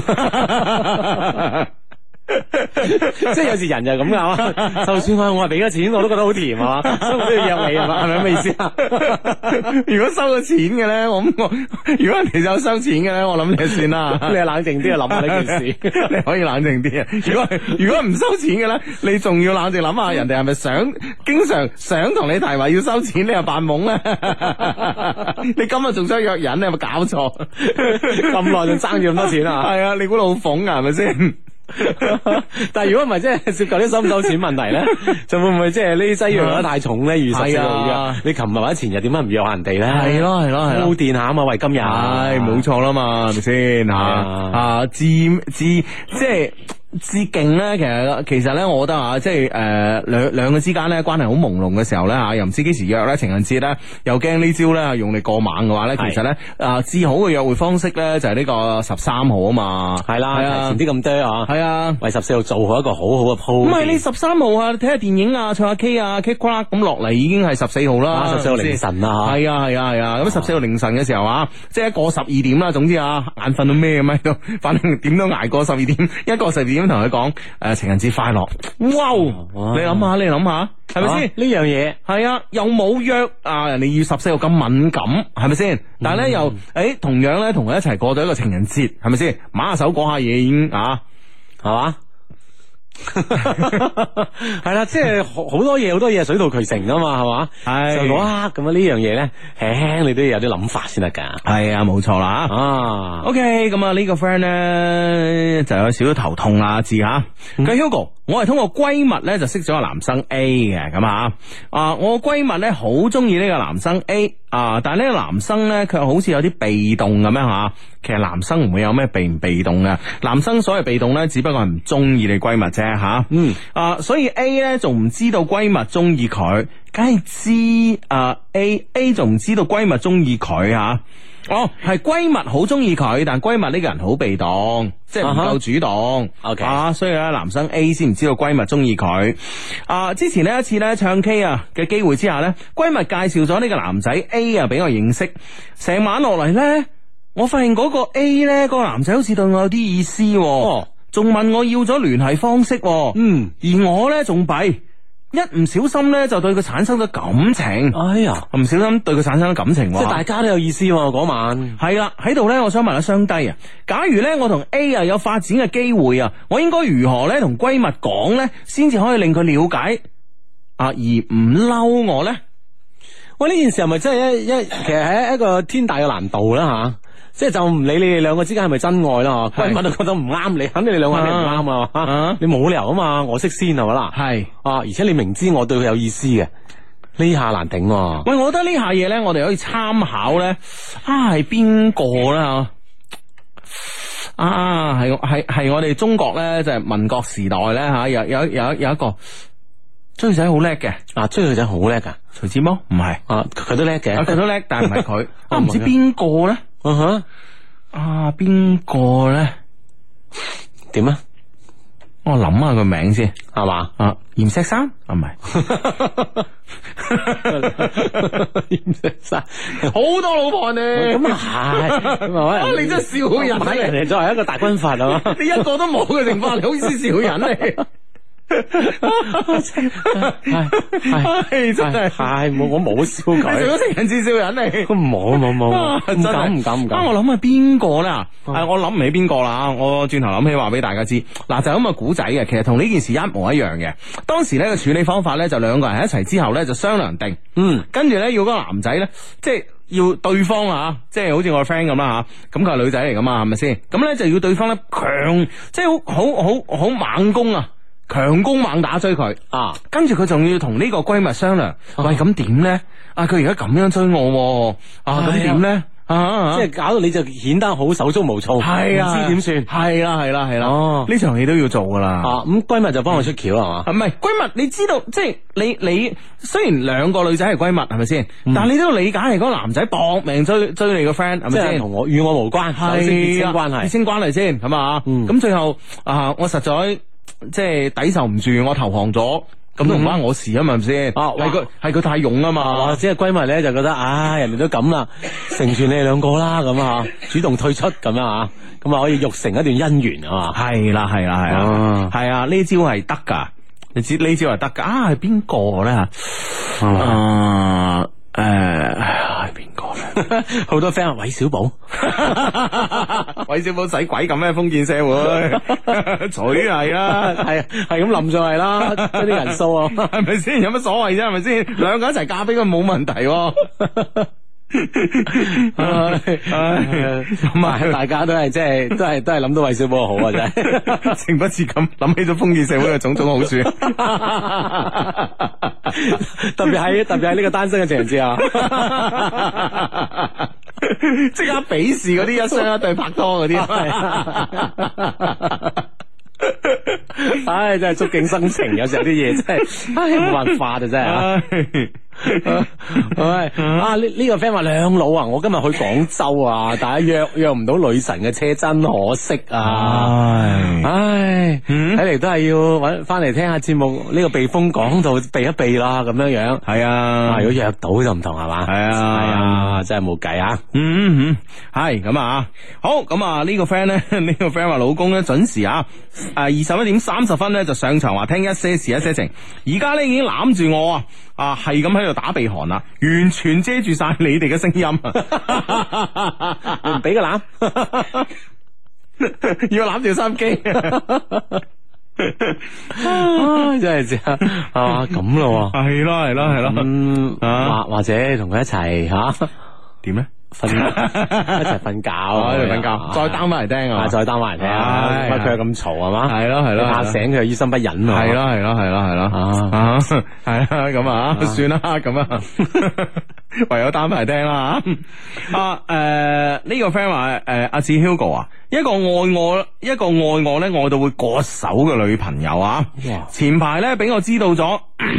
嘅？ 即係有時人就係咁噶，就算我我係俾咗錢，我都覺得好甜啊，所以我都要約你啊嘛，係咪咁嘅意思啊？ 如果收咗錢嘅咧，我我如果人哋有收錢嘅咧，我諗你就算啦。 你係冷靜啲啊，諗下呢件事， 你可以冷靜啲啊。如果如果唔收錢嘅咧，你仲要冷靜諗下，人哋係咪想經常想同你提話要收錢，你又扮懵咧？你今日仲想約人，你有冇搞錯？ 咁耐仲爭住咁多錢啊？ 係啊，你估老馮啊，係咪先？ 但係如果唔係，即係涉及啲收唔收錢問題咧，就會唔會即係呢劑藥得太重咧？二十四號約你琴日或者前日點解唔約下人哋咧？ 係咯係咯係咯，鋪墊下啊嘛，為今日， 係冇錯啦嘛，係咪先吓啊？自自即係。致敬咧，其實其實咧，我覺得啊，即係誒兩兩個之間咧關係好朦朧嘅時候咧吓，又唔知幾時約咧，情人節咧，又驚呢招咧用力過猛嘅話咧，其實咧啊，至好嘅約會方式咧就係呢個十三號啊嘛， 係啦，提前啲咁多啊， 係啊， 為十四號做好一個好好嘅鋪。 唔係你十三號啊，睇下電影啊，唱下 K 啊 ，K Club 咁落嚟已經係十四號啦， 十四號凌晨啊， 係啊係啊係啊，咁十四號凌晨嘅時候啊，即係過十二點啦，總之啊，眼瞓到咩咁喺度，反正點都挨過十二點，一過十二點同佢講。誒、呃，情人節快樂！哇，哇你諗下，你諗下，係咪先呢樣嘢？ 係啊，又冇約啊，人哋要十四號咁敏感，係咪先？但係咧又誒，同樣咧同佢一齊過到一個情人節，係咪先？馬下手講下嘢已經啊，係嘛？ 係啦，即係好多嘢，好多嘢水到渠成噶嘛，係嘛？係就嗰刻咁啊，呢樣嘢咧，輕輕你都要有啲諗法先得噶。 係啊，冇錯啦。啊，OK，咁啊呢個 friend 咧就有少少頭痛啦，知吓。佢 Hugo，我係通過閨蜜咧就識咗個男生 A 嘅，咁啊啊，我閨蜜咧好中意呢個男生 A 啊，但係呢個男生咧佢好似有啲被動咁樣吓。其實男生唔會有咩被唔被動嘅，男生所謂被動咧，只不過係唔中意你閨蜜啫吓。嗯啊，所以 A 咧仲唔知道閨蜜中意佢，梗係知啊 A A 仲唔知道閨蜜中意佢吓。哦，係閨蜜好中意佢，但閨蜜呢個人好被動，即係唔夠主動。Uh-huh. OK 啊，所以咧男生 A 先唔知道閨蜜中意佢。啊，之前呢一次咧唱 K 啊嘅機會之下咧，閨蜜介紹咗呢個男仔 A 啊俾我認識，成晚落嚟咧。我發現嗰個 A 咧，嗰個男仔好似對我有啲意思，哦，仲問我要咗聯繫方式，嗯，而我咧仲弊，一唔小心咧就對佢產生咗感情。哎呀，唔小心對佢產生咗感情，即係大家都有意思嗰晚。係啦，喺度咧，我想問下雙低啊，假如咧我同 A 啊有發展嘅機會啊，我應該如何咧同閨蜜講咧，先至可以令佢了解啊，而唔嬲我咧？喂，呢件事係咪真係一一其實係一個天大嘅難度啦吓？即係就唔理你哋兩個之間係咪真愛啦，閨蜜都覺得唔啱你，肯定你兩個肯定唔啱啊！啊你冇理由啊嘛，我識先係咪啦？係啊，而且你明知我對佢有意思嘅，呢下難頂啊。喂，我覺得呢下嘢咧，我哋可以參考咧，啊係邊個啦？啊係係係我哋中國咧，就係民國時代咧吓，有有有有一個追女仔好叻嘅，啊追女仔好叻噶，徐志摩唔係啊，佢都叻嘅，佢都叻，但係唔係佢，我唔知邊個咧。嗯哼，啊邊個咧？點啊？我諗下個名先，係嘛？啊閻錫山啊，唔係閻錫山，好多老婆呢？咁啊係，咁啊你真係笑人，人哋作為一個大軍閥啊嘛，你一個都冇嘅情況，你好意思笑人你？ 係係真係係冇我冇笑佢， 做咗情人節笑人嚟， 冇冇冇，唔敢唔敢唔敢。 我諗下邊個咧？誒，我諗唔起邊個啦。我轉頭諗起話俾大家知，嗱就咁嘅古仔嘅，其實同呢件事一模一樣嘅。當時咧個處理方法咧就兩個人喺一齊之後咧就商量定，嗯，跟住咧要嗰個男仔咧即係。要對方啊，即係好似我個 friend 咁啦吓，咁佢係女仔嚟噶嘛，係咪先？咁咧就要對方咧強，即係好好好好猛攻啊，強攻猛打追佢啊，跟住佢仲要同呢個閨蜜商量，啊、喂咁點咧？啊，佢而家咁樣追我，啊，咁點咧？啊！ 即係搞到你就顯得好手足無措，係啊，唔知點算？ 係啦，係啦，係啦。哦，呢場戲都要做噶啦。 啊，咁閨蜜就幫我出橋係嘛？ 唔係閨蜜，你知道即係你你雖然兩個女仔係閨蜜係咪先？但係你都要理解係嗰個男仔搏命追追你個 friend 係咪先？ 同我與我無關，係血親關係， 血親關係先係嘛？咁最後啊，我實在即係抵受唔住，我投降咗。咁都唔關我事啊嘛，係咪先？係佢係佢太勇啊嘛， 或者係閨蜜咧就覺得，唉，人哋都咁啦，成全你哋兩個啦，咁啊，主動退出咁啊，咁啊可以育成一段姻緣啊嘛。 係啦，係啦，係啦，係啊，呢招係得噶，你知呢招係得噶。啊，係邊個咧吓？啊，誒，係邊個咧？ 好多 friend 話韋小寶， 韋小寶使鬼咁咩？封建社會，取係啦， 係係咁冧上嚟啦，啲人數啊， 係咪先？有乜所謂啫？係咪先？兩個一齊嫁俾佢冇問題。 咁啊，大家都係即係都係都係諗到韋小寶好啊，真係情不自禁諗起咗封建社會嘅種種好處。 特別喺特別喺呢個單身嘅情人節啊， 即刻鄙視嗰啲一雙一對拍拖嗰啲。 唉，真係觸景生情，有時候啲嘢真係，唉，冇辦法啊，真係。唉，啊呢呢個 friend 話兩老啊，我今日去廣州啊，但係約約唔到女神嘅車，真可惜啊！唉，睇嚟都係要搵翻嚟聽下節目，呢個避風港度避一避啦，咁樣樣。 係啊， 如果約到就唔同係嘛？ 係啊， 係啊，真係冇計啊！ 嗯嗯，係咁啊，好咁啊，呢個 friend 咧，呢個 friend 話老公咧準時啊，誒二十一點三十分咧就上場話聽一些事一些情，而家咧已經攬住我啊！啊，係咁喺度打鼻鼾啦，完全遮住晒你哋嘅聲音， 唔俾個攬， 要攬住收音機， 真係正啊！咁咯， 係咯係咯係咯， 嗯，或或者同佢一齊吓， 點咧？ 瞓一齊瞓覺， 一齊瞓覺，再 down 翻嚟聽啊！ 再 down 翻嚟聽啊！乜佢又咁嘈係嘛？ 係咯係咯， 嚇醒佢又於心不忍啊！ 係咯係咯係咯係咯啊！係啊咁啊，算啦咁啊，唯有 down 翻嚟聽啦嚇！啊誒呢個 friend 話誒阿志 Hugo 啊，一個愛我一個愛我咧愛到會割手嘅女朋友啊！前排咧俾我知道咗，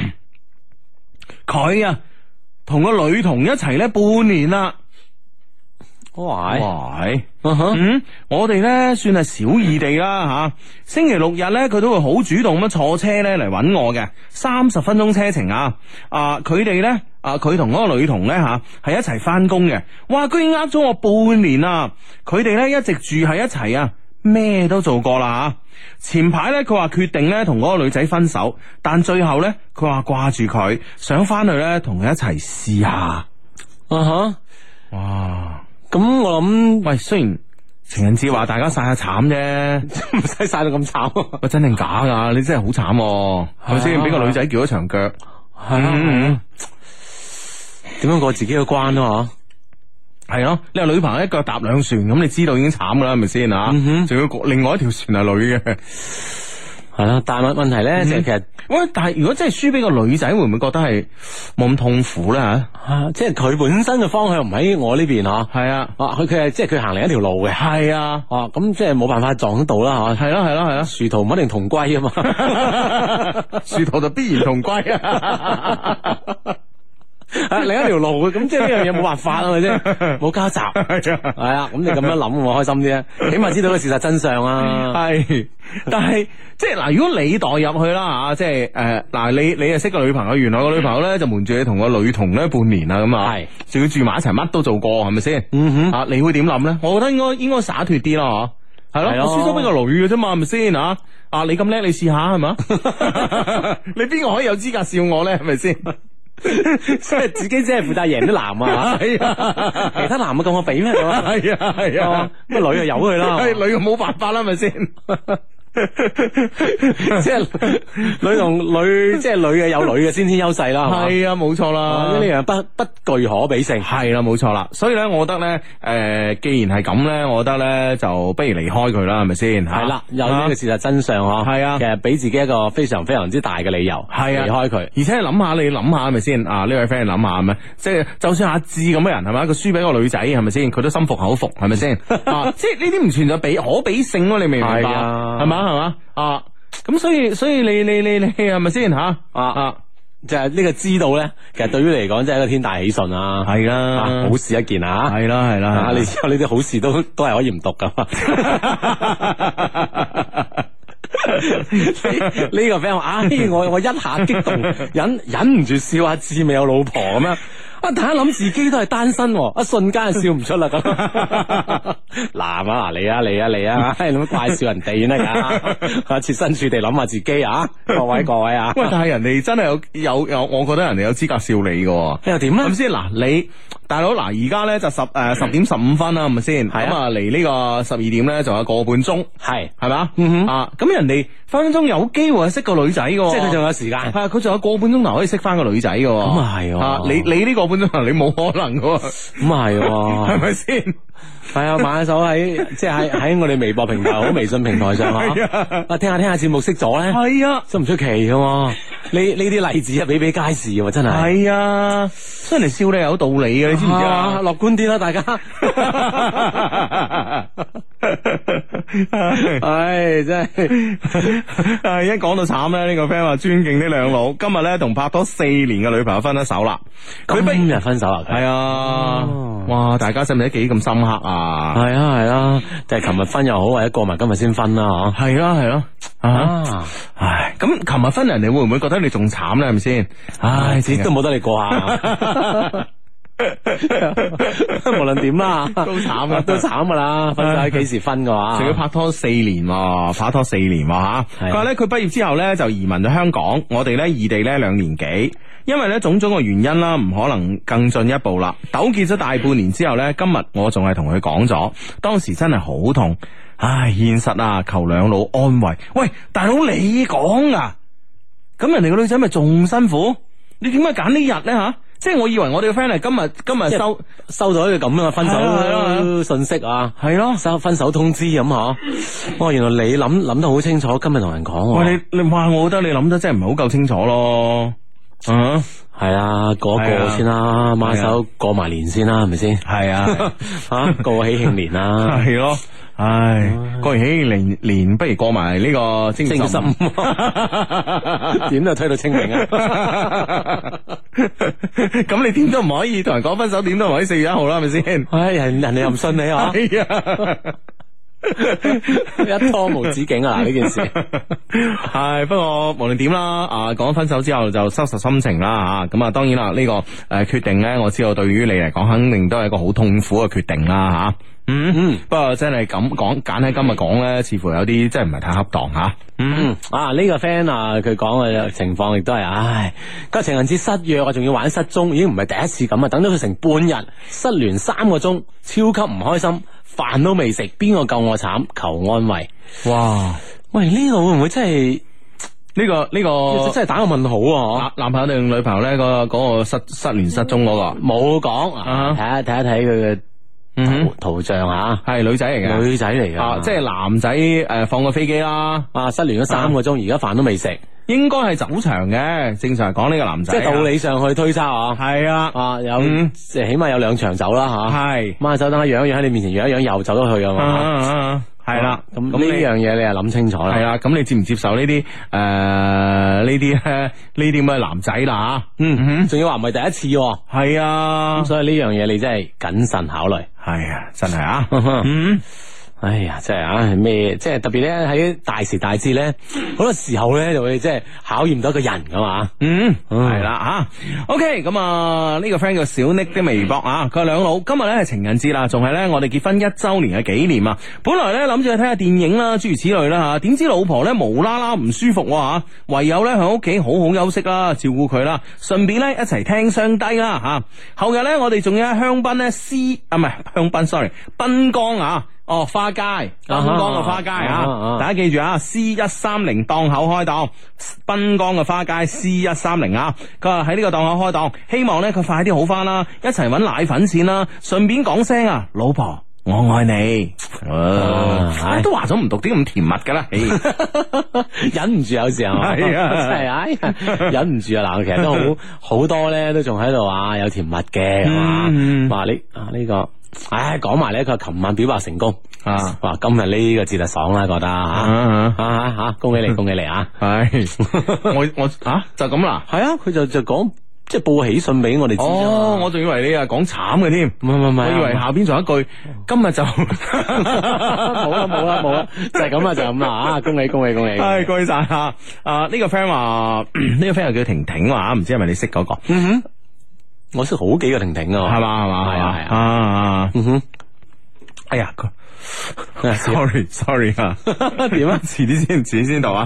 佢啊同個女童一齊咧半年啦。 喂喂，嗯哼，嗯，我哋咧算係小異地啦吓。星期六日咧，佢都會好主動咁坐車咧嚟搵我嘅，三十分鐘車程啊。啊，佢哋咧，啊，佢同嗰個女童咧吓係一齊翻工嘅。哇，居然呃咗我半年啊！佢哋咧一直住喺一齊啊，咩都做過啦吓。前排咧，佢話決定咧同嗰個女仔分手，但最後咧，佢話掛住佢，想翻去咧同佢一齊試下。啊哈，哇！ 咁我諗， 喂，雖然情人節話大家晒下慘啫， 唔使晒到咁慘。 喂，真定假噶？你真係好慘，係咪先？俾個女仔撬咗長腳，係啊， 點樣過自己嘅關啊？ 係咯，你話女朋友一腳踏兩船，咁你知道已經慘噶啦，係咪先啊？仲要另外一條船係女嘅。 係啦，但係問題咧，就係其實， 喂，但係如果真係輸俾個女仔，會唔會覺得係冇咁痛苦咧？吓、 啊，即係佢本身嘅方向唔喺我呢邊嗬。係啊， 啊，佢佢係即係佢行另一條路嘅。係啊，哦、啊，咁即係冇辦法撞到啦，吓。係咯係咯係咯，殊途唔一定同歸啊嘛， 殊途就必然同歸啊。 啊，另一條路嘅，咁即係呢樣嘢冇辦法啊，咪先，冇交集，係啊，咁你咁樣諗我開心啲啊，起碼知道個事實真相啊。係，但係即係嗱，如果你代入去啦吓，即係誒嗱，你你啊識個女朋友，原來個女朋友咧就瞞住你同個女童咧半年啦，咁啊，係，仲要住埋一齊，乜都做過，係咪先？嗯哼，啊，你會點諗咧？我覺得應該應該灑脫啲咯， 係咯，我輸咗俾個女嘅啫嘛，係咪先啊？啊，你咁叻，你試下係嘛？你邊個可以有資格笑我咧？係咪先？ 即係自己只係負責贏啲男啊，係啊，其他男啊咁我俾咩？係啊係啊， 咁女啊由佢啦， 女啊冇辦法啦，係咪先？ 即係女同女，即係女嘅有女嘅先天優勢啦， 係啊，冇錯啦， 呢樣不不具可比性， 係啦，冇錯啦。所以咧，我覺得咧，誒、呃，既然係咁咧，我覺得咧，就不如離開佢啦，係咪先？ 係啦，有呢個事實真相嗬，係啊，其實俾自己一個非常非常之大嘅理由，係啊，離開佢。而且諗下，你諗下係咪先？啊，呢位 friend 諗下係咪？即係就算阿志咁嘅人係咪？佢輸俾個女仔係咪先？佢都心服口服係咪先？啊，即係呢啲唔存在比可比性咯，你明唔明白？係嘛？係嘛啊？咁所以所以你你你你係咪先吓啊啊？就係呢個知道咧，其實對於你嚟講，真係一個天大喜訊啊！ 係啦， 好事一件啊！ 係啦係啦， 你知道呢啲好事都都係可以唔讀噶嘛？呢個 friend 話：，唉，我我一下激動，忍忍唔住笑阿志未有老婆咁樣。啊！大家諗自己都係單身，一瞬間就笑唔出啦咁。嗱啊，嚟啊嚟啊嚟啊！咁怪笑人哋咧噶，設身處地諗下自己啊！各位各位啊！ 喂，但係人哋真係有有有，我覺得人哋有資格笑你噶。 你又點咧？ 咁先嗱，你大佬嗱，而家咧就十誒十點十五分啦，係咪先？咁啊，離呢個十二點咧，仲有個半鐘，係係咪啊？咁人哋分分鐘有機會係識個女仔噶，即係佢仲有時間。係啊，佢仲有個半鐘頭可以識翻個女仔噶。 咁啊係啊！ 你你呢個半鐘頭你冇可能噶， 咁啊係，係咪先？ 係啊，買手喺即係喺喺我哋微博平台、好微信平台上啊，啊聽下聽下節目識咗咧，係啊，真唔出奇噶。呢呢啲例子啊，比比皆是喎，真係。係啊，出嚟笑你有道理嘅，你知唔知啊？樂觀啲啦，大家。唉，真係，唉，一講到慘咧，呢個 friend 話尊敬呢兩老，今日咧同拍拖四年嘅女朋友分咗手啦。佢今日分手啦？ 係啊，哇！大家使唔使幾咁深刻啊？ 係啊係啊，就係琴日分又好，或者過埋今日先分啦，嗬。 係咯係咯，啊，唉，咁琴日分人哋會唔會覺得你仲慘咧？係咪先？唉，自己都冇得你過下。無論點啦，都慘噶，都慘噶啦。分手幾時分嘅話， 仲要拍拖四年，拍拖四年吓。佢話咧，佢畢業之後咧就移民咗香港，我哋咧異地咧兩年幾，因為咧種種嘅原因啦，唔可能更進一步啦。糾結咗大半年之後咧，今日我仲係同佢講咗，當時真係好痛。唉，現實啊，求兩老安慰。喂，大佬你講啊，咁人哋個女仔咪仲辛苦？你點解揀呢日咧吓？即係我以為我哋個 friend 係今日今日收收到一個咁樣嘅分手信息啊，係咯，收分手通知咁嗬。哦，原來你諗諗得好清楚，今日同人講。 喂，你你哇，我覺得你諗得真係唔係好夠清楚咯。嗯， 係啊，過一過先啦，馬手過埋年先啦，係咪先？係啊，吓過喜慶年啦， 係咯。唉，過完喜慶年年，不如過埋呢個正月十五， 點都推到清明啊！ 咁你點都唔可以同人講分手，點都唔可以四月一號啦，係咪先？ 唉，人人哋又唔信你啊！一拖無止境啊！呢件事係，不過無論點啦，啊，講分手之後就收拾心情啦，吓咁啊，當然啦，呢、這個誒、呃、決定咧，我知道對於你嚟講，肯定都係一個好痛苦嘅決定啦，吓、啊。嗯嗯，不過真係咁講，揀喺今日講咧，似乎有啲真係唔係太恰當吓。 嗯啊，呢、這個 friend 啊，佢講嘅情況亦都係，唉，個情人節失約啊，仲要玩失蹤，已經唔係第一次咁啊，等咗佢成半日，失聯三個鐘，超級唔開心，飯都未食，邊個救我慘？求安慰。哇，喂，呢、這個會唔會真係呢、這個呢、這個真係打個問號啊？ 男朋友定女朋友咧？嗰、那個、那個失失聯失蹤嗰、那個冇講啊，睇下睇一睇佢嘅。嗯，圖像啊， 係女仔嚟嘅， 女仔嚟嘅， 即係男仔誒放個飛機啦， 啊失聯咗三個鐘，而家飯都未食， 應該係走場嘅。正常講呢個男仔， 即係道理上去推測啊， 係啊， 啊有即係起碼有兩場走啦吓，係掹手等下養一養喺你面前養一養又走咗去啊嘛，係啦，咁咁呢樣嘢你又諗清楚啦，係啦，咁你接唔接受呢啲誒呢啲咧呢啲咁嘅男仔啦吓，嗯，仲要話唔係第一次，係啊，咁所以呢樣嘢你真係謹慎考慮。 係啊，真係啊，嗯， 哎呀，真係啊，咩？即係特別咧喺大時大節咧，好多時候咧就會即係考驗到一個人噶嘛。 嗯，係啦吓。OK，咁啊呢個 friend 叫小 Nick 的微博啊，佢話兩老今日咧係情人節啦，仲係咧我哋結婚一周年嘅紀念啊。本來咧諗住去睇下電影啦，諸如此類啦吓，點知老婆咧無啦啦唔舒服吓，唯有咧喺屋企好好休息啦，照顧佢啦，順便咧一齊聽雙低啦吓。後日咧我哋仲要喺香檳咧 C 啊唔係香檳 sorry 濱江啊。哦，花街，濱江嘅花街啊，啊啊啊大家記住啊 ，C 一三零檔口開檔，濱江嘅花街 C 一三零啊，佢話喺呢個檔口開檔，希望咧佢快啲好翻啦，一齊搵奶粉錢啦，順便講聲啊，老婆我愛你，啊啊、都話咗唔讀啲咁甜蜜噶啦， 忍唔住有時候係啊，真係啊，忍唔住啊，嗱，其實都好好多咧，都仲喺度話有甜蜜嘅，係嘛、嗯，話你啊呢、這個。唉，講埋咧，佢琴晚表白成功啊！哇，今日呢個節日爽啦，覺得吓啊吓吓，恭喜你，恭喜你啊！係我我啊就咁啦， 係啊，佢就就講即係報喜訊俾我哋知哦，我仲以為你啊講慘嘅添， 唔係唔係， 我以為下邊仲有一句，今日就冇啦冇啦冇啦，就係咁啊就咁啦啊！恭喜恭喜恭喜！ 係恭喜晒啊！啊呢個 friend 話呢個 friend 又叫婷婷話，唔知係咪你識嗰個？嗯哼。 我識好幾個婷婷啊， 係嘛係嘛係啊係啊，嗯哼，哎呀，sorry sorry 啊，點啊？遲啲先，遲啲先到啊！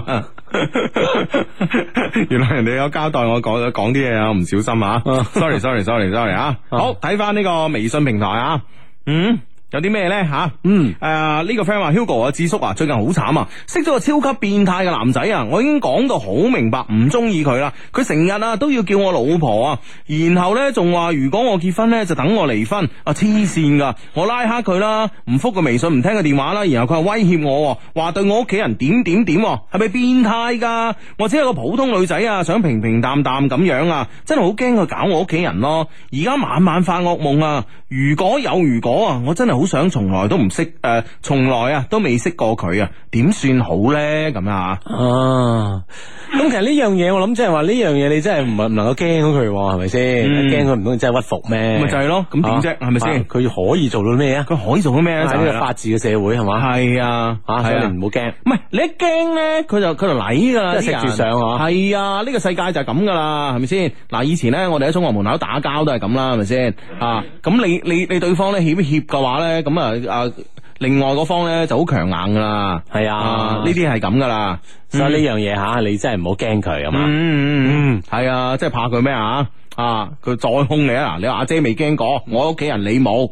原來人哋有交代我講講啲嘢啊，我唔小心啊！sorry sorry sorry sorry 啊！好，睇翻呢個微信平台啊，嗯。有啲咩咧吓？嗯，誒、呃、呢、這個 friend 話 Hugo 啊，智叔啊，最近好慘啊，識咗個超級變態嘅男仔啊，我已經講到好明白唔中意佢啦，佢成日啊都要叫我老婆啊，然後咧仲話如果我結婚咧就等我離婚啊，黐線噶，我拉黑佢啦，唔復個微信，唔聽個電話啦，然後佢係威脅我，話對我屋企人點點點，係咪變態噶？我只係個普通女仔啊，想平平淡淡咁樣啊，真係好驚佢搞我屋企人咯，而家晚晚發噩夢啊，如果有如果啊，我真係好想從來都唔識誒，從、呃、來啊都未識過佢啊，點算好咧？咁啊，啊， 咁其實呢樣嘢我諗即係話呢樣嘢你真係唔係唔能夠驚到佢係咪先？驚佢唔通真係屈服咩？ 咪就係咯，咁點啫？係咪先？ 佢可以做到咩啊？佢可以做到咩咧？就係呢個法治嘅社會係嘛？係啊，啊，所以你唔好驚。 唔係你一驚咧，佢就佢就嚟噶啦， 即係食住上啊！ 係啊，呢、這個世界就係咁噶啦，係咪先？嗱，以前咧我哋喺中學門口打交都係咁啦，係咪先？啊，咁你你你對方咧協協嘅話咧，咁啊啊，另外嗰方咧就好強硬噶啦，係啊，呢啲係咁噶啦， 所以呢樣嘢吓，你真係唔好驚佢啊嘛， 嗯嗯嗯，係啊，即係怕佢咩啊？啊，佢再兇你啊！你話阿姐未驚過，我屋企人你冇。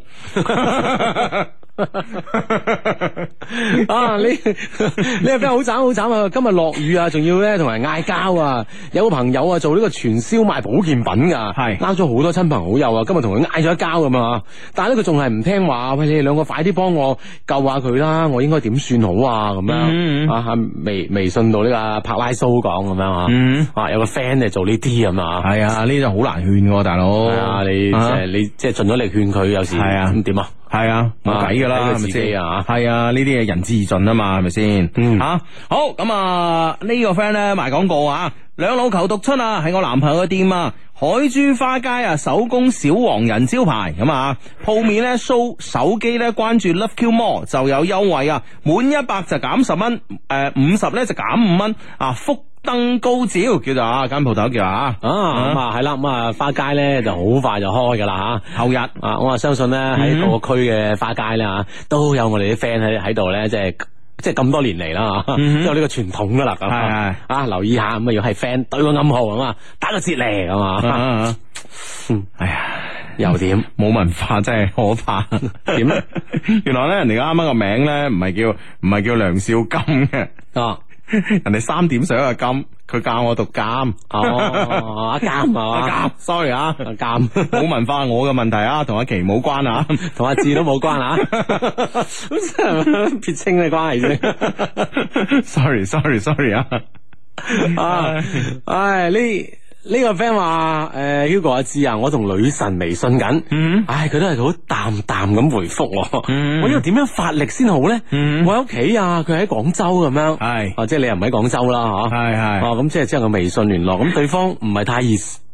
啊！你你係邊好慘好慘啊！今日落雨啊，仲要咧同人嗌交啊！有個朋友啊做呢個傳銷賣保健品噶，係啱咗好多親朋好友啊！今日同佢嗌咗一交咁啊！但係咧佢仲係唔聽話，喂，你哋兩個快啲幫我救下佢啦！我應該點算好啊？咁樣、嗯、啊微微信到呢個柏拉蘇講咁樣啊，嗯、啊有個 friend 嚟做呢啲咁啊， 係啊，呢啲好難勸嘅，大佬啊，你即係你即係盡咗力勸佢，有時係啊咁點啊？ 係啊，冇計噶啦，係咪先啊？係啊，呢啲嘢仁至義盡啊嘛，係咪先？嗯，吓、啊、好咁啊！呢、這個 friend 咧賣廣告啊，兩老求讀出啊，係我男朋友嘅店啊，海珠花街啊，手工小黃人招牌咁啊，鋪面咧 show 手機咧，關注 Love Q More 就有優惠啊，滿一百就減十蚊，誒五十咧就減五蚊啊，福登高照叫做啊間鋪頭叫啊，啊咁啊係啦，咁啊花街咧就好快就開噶啦吓，後日啊我啊相信咧喺各個區嘅花街咧吓都有我哋啲 friend 喺喺度咧，即係即係咁多年嚟啦吓，都有呢個傳統噶啦咁係啊留意下咁啊，要係 friend 對個暗號咁啊，打個折嚟咁啊， 哎呀又點冇文化真係可怕點咧？原來咧人哋啱啱個名咧唔係叫唔係叫梁少金嘅啊。人哋三點水嘅金，佢教我讀監。 哦，阿監啊， 阿監 ，sorry 啊， 阿監， 冇文化我嘅問題啊，同阿琪冇關啊， 同阿志都冇關啊，咁真係撇清嘅關係啫。 sorry，sorry，sorry 啊， 啊，唉呢。呢個 friend 話誒 Hugo 阿志啊，我同女神微信緊，嗯、唉佢都係好淡淡咁回覆我，嗯、我呢度點樣發力先好咧？嗯、我喺屋企啊，佢喺廣州咁樣，係，啊即係你又唔喺廣州啦，嗬，係係，哦咁即係即係個微信聯絡，咁對方唔係太熱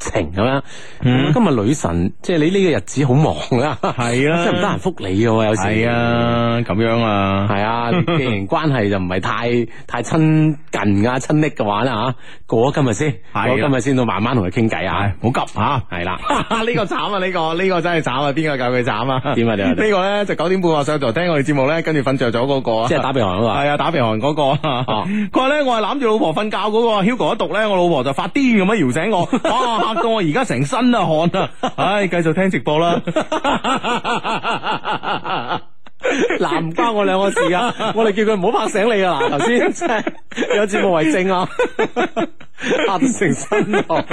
情咁樣。嗯、今日女神，即係你呢個日子好忙啊， 係啊， 真係唔得閒覆你嘅，有時係啊，咁樣啊， 係啊，既然關係就唔係太太親近啊、親昵嘅話咧吓，過咗今日先，過咗今日先到慢慢同佢傾偈啊， 唔好急吓， 係啦， 呢個慘啊，呢個呢個真係慘啊，邊個教佢慘啊？ 點啊點啊？呢個咧就九點半話上台聽我哋節目咧，跟住瞓着咗嗰個， 即係打鼻鼾嗰個，係啊，打鼻鼾嗰個，佢話咧我係攬住老婆瞓覺嗰個 Hugo 一讀咧，我老婆就發癲咁樣搖醒我，哇嚇到我而家成身啊汗啊，唉，繼續聽直播啦。 嗱，唔關我兩個事啊，我哋叫佢唔好拍醒你啊！嗱，頭先真係有節目為證啊，嚇到成身汗。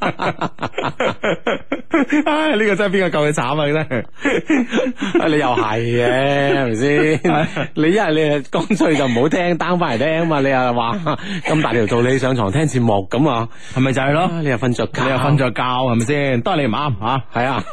唉，呢、這個真係邊個救佢慘啊？真係， 你又係嘅，係咪先？你一係你係乾脆就唔好聽 down 翻嚟聽嘛，你又話咁大條道理上床聽節目咁啊，係咪就係咯？你又瞓着覺，你又瞓着覺，係咪先？都係你唔啱吓，係啊。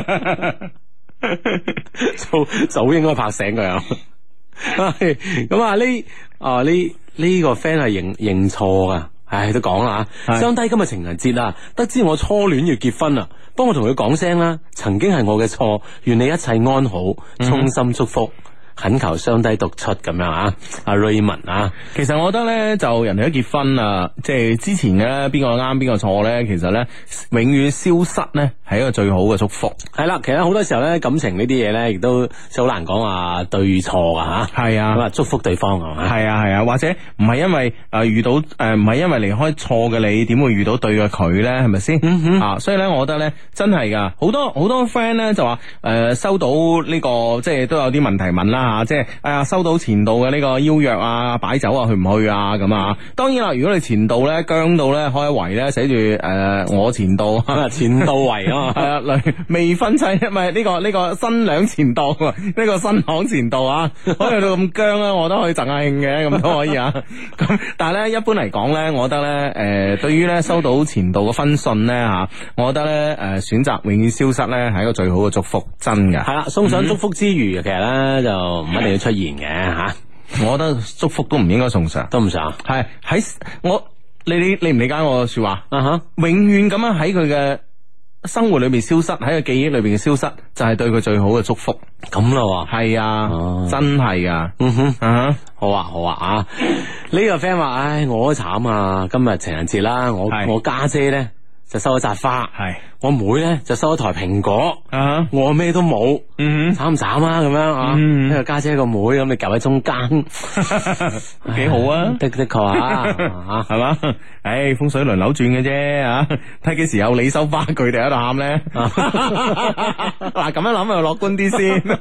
早早應該拍醒佢啊！咁啊呢啊呢呢個 friend 係認認錯噶，唉都講啦吓。相低今日情人節啦，得知我初戀要結婚啦，幫我同佢講聲啦，曾經係我嘅錯，願你一切安好，衷心祝福。嗯懇求雙低讀出咁樣啊，阿 Raymond 啊， 其實我覺得咧，就人哋都結婚啦，即係之前嘅邊個啱邊個錯咧，其實咧永遠消失咧係一個最好嘅祝福。 係啦，其實好多時候咧，感情呢啲嘢咧，亦都好難講話對錯噶吓。係啊，咁啊祝福對方係嘛。係啊係啊，或者唔係因為誒遇到誒唔係因為離開錯嘅你，點會遇到對嘅佢咧？係咪先？嗯哼啊，所以咧，我覺得咧，真係噶，好多好多 friend 咧就話誒、呃、收到呢、這個即係都有啲問題問啦。啊，即係哎呀，收到前度嘅呢個邀約啊，擺酒啊，去唔去啊？咁啊，當然啦，如果你前度咧僵到咧開圍咧，寫住誒我前度， 前度圍啊， 係啊，未婚妻唔係呢個呢、這個新娘前度，呢、這個新郎前度啊，可以去到咁僵啊，我都可以贈下慶嘅，咁都可以啊。咁但係咧，一般嚟講咧，我覺得咧，誒、呃，對於咧收到前度嘅婚訊咧吓，我覺得咧，誒、呃，選擇永遠消失咧係一個最好嘅祝福，真嘅。係啦， 送上祝福之餘，嗯、其實咧就唔一定要出現嘅吓。 我覺得祝福都唔應該送上， 都唔上。 係喺我你你理唔理解我嘅說話？啊哈、uh，huh. 永遠咁樣喺佢嘅生活裏邊消失，喺個記憶裏邊嘅消失，就係、是、對佢最好嘅祝福。 咁咯， 係啊，哦、真係噶。 嗯哼， 啊、uh，huh. 好啊，好啊，啊，呢個 friend 話，唉，我都慘啊，今日情人節啦，我是我家姐咧就收咗扎花，係是我妹咧就收咗台蘋果，啊、uh，huh. 我咩都冇，嗯哼，慘唔慘啊？咁樣啊，呢個家姐個妹咁，你夾喺中間， 幾好啊？ 的的確啊， 係嘛？唉，風水輪流轉嘅啫，啊，睇幾時有你收花，佢哋喺度喊咧。嗱，咁樣諗就樂觀啲先。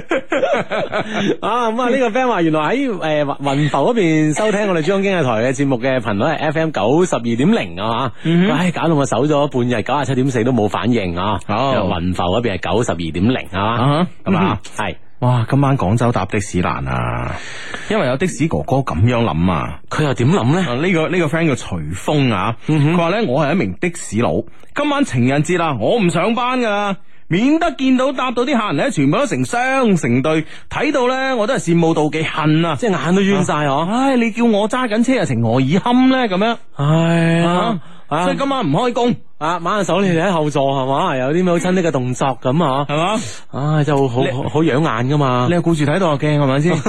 啊咁啊！呢個 friend 話原來喺誒雲浮嗰邊收聽我哋珠江經濟台嘅節目嘅頻率係 F M 九十二點零啊吓，唉搞到我守咗半日九十七點四都冇反應啊！哦，雲浮嗰邊係九十二點零啊，係嘛？係哇！今晚廣州搭的士難啊，因為有的士哥哥咁樣諗啊， 佢又點諗咧？ 呢個呢個 friend 叫徐峰啊，佢話咧我係一名的士佬，今晚情人節啦，我唔上班噶。免得見到搭到啲客人咧，全部都成雙成對，睇到咧我都係羨慕妒忌恨啊！ 即係眼都冤晒嗬！ 唉，你叫我揸緊車啊，情何以堪咧？咁樣，唉啊！所以今晚唔開工啊，挽下手你哋喺後座係嘛，有啲咩好親昵嘅動作咁啊，係嘛？唉，就好好好養眼噶嘛！ 你又顧住睇到個鏡係咪先？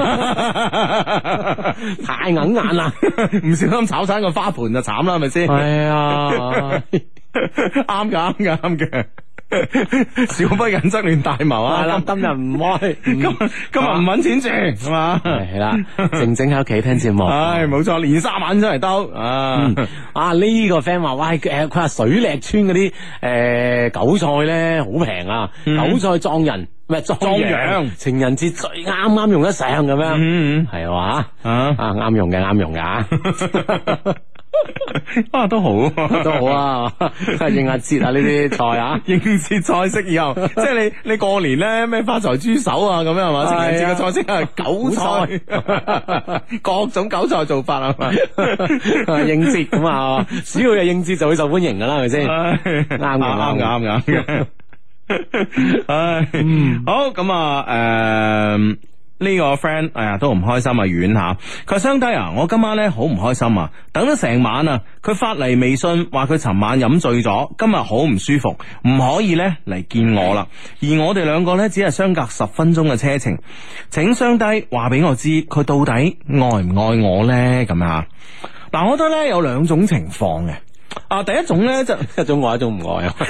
太硬眼啦！ 唔小心炒散個花盆就慘啦，係咪先？ 係啊， 啱噶，啱噶，啱嘅。小不忍則亂大謀啊！ 係啦，今日唔開， 今今日唔搵錢住係嘛？ 係啦，靜靜喺屋企聽節目。 唉，冇錯，連三晚出嚟兜啊！ 啊，呢個 friend 話喂，誒，佢話水瀝村嗰啲誒韭菜咧好平啊，韭菜撞人唔係撞羊，情人節最啱啱用得上咁樣，係話啊啊啱用嘅，啱用嘅。 啊，都好， 都好啊！應下節啊，呢啲菜啊， 應節菜式以後，即係你你過年咧咩花財豬手啊咁樣係嘛？情人節嘅菜式係韭菜，各種韭菜做法係嘛？ 應節咁啊，只要係應節就會受歡迎噶啦，係咪先？啱嘅，啱嘅，啱嘅。 唉，好咁啊，誒。 呢個 friend 哎呀都唔開心啊，遠吓。佢話雙低啊，我今晚咧好唔開心啊，等咗成晚啊，佢發嚟微信話佢尋晚飲醉咗，今日好唔舒服，唔可以咧嚟見我啦。而我哋兩個咧只係相隔十分鐘嘅車程，請雙低話俾我知佢到底愛唔愛我咧咁啊。嗱，我覺得咧有兩種情況嘅。啊，第一種咧就一種愛，一種唔愛啊！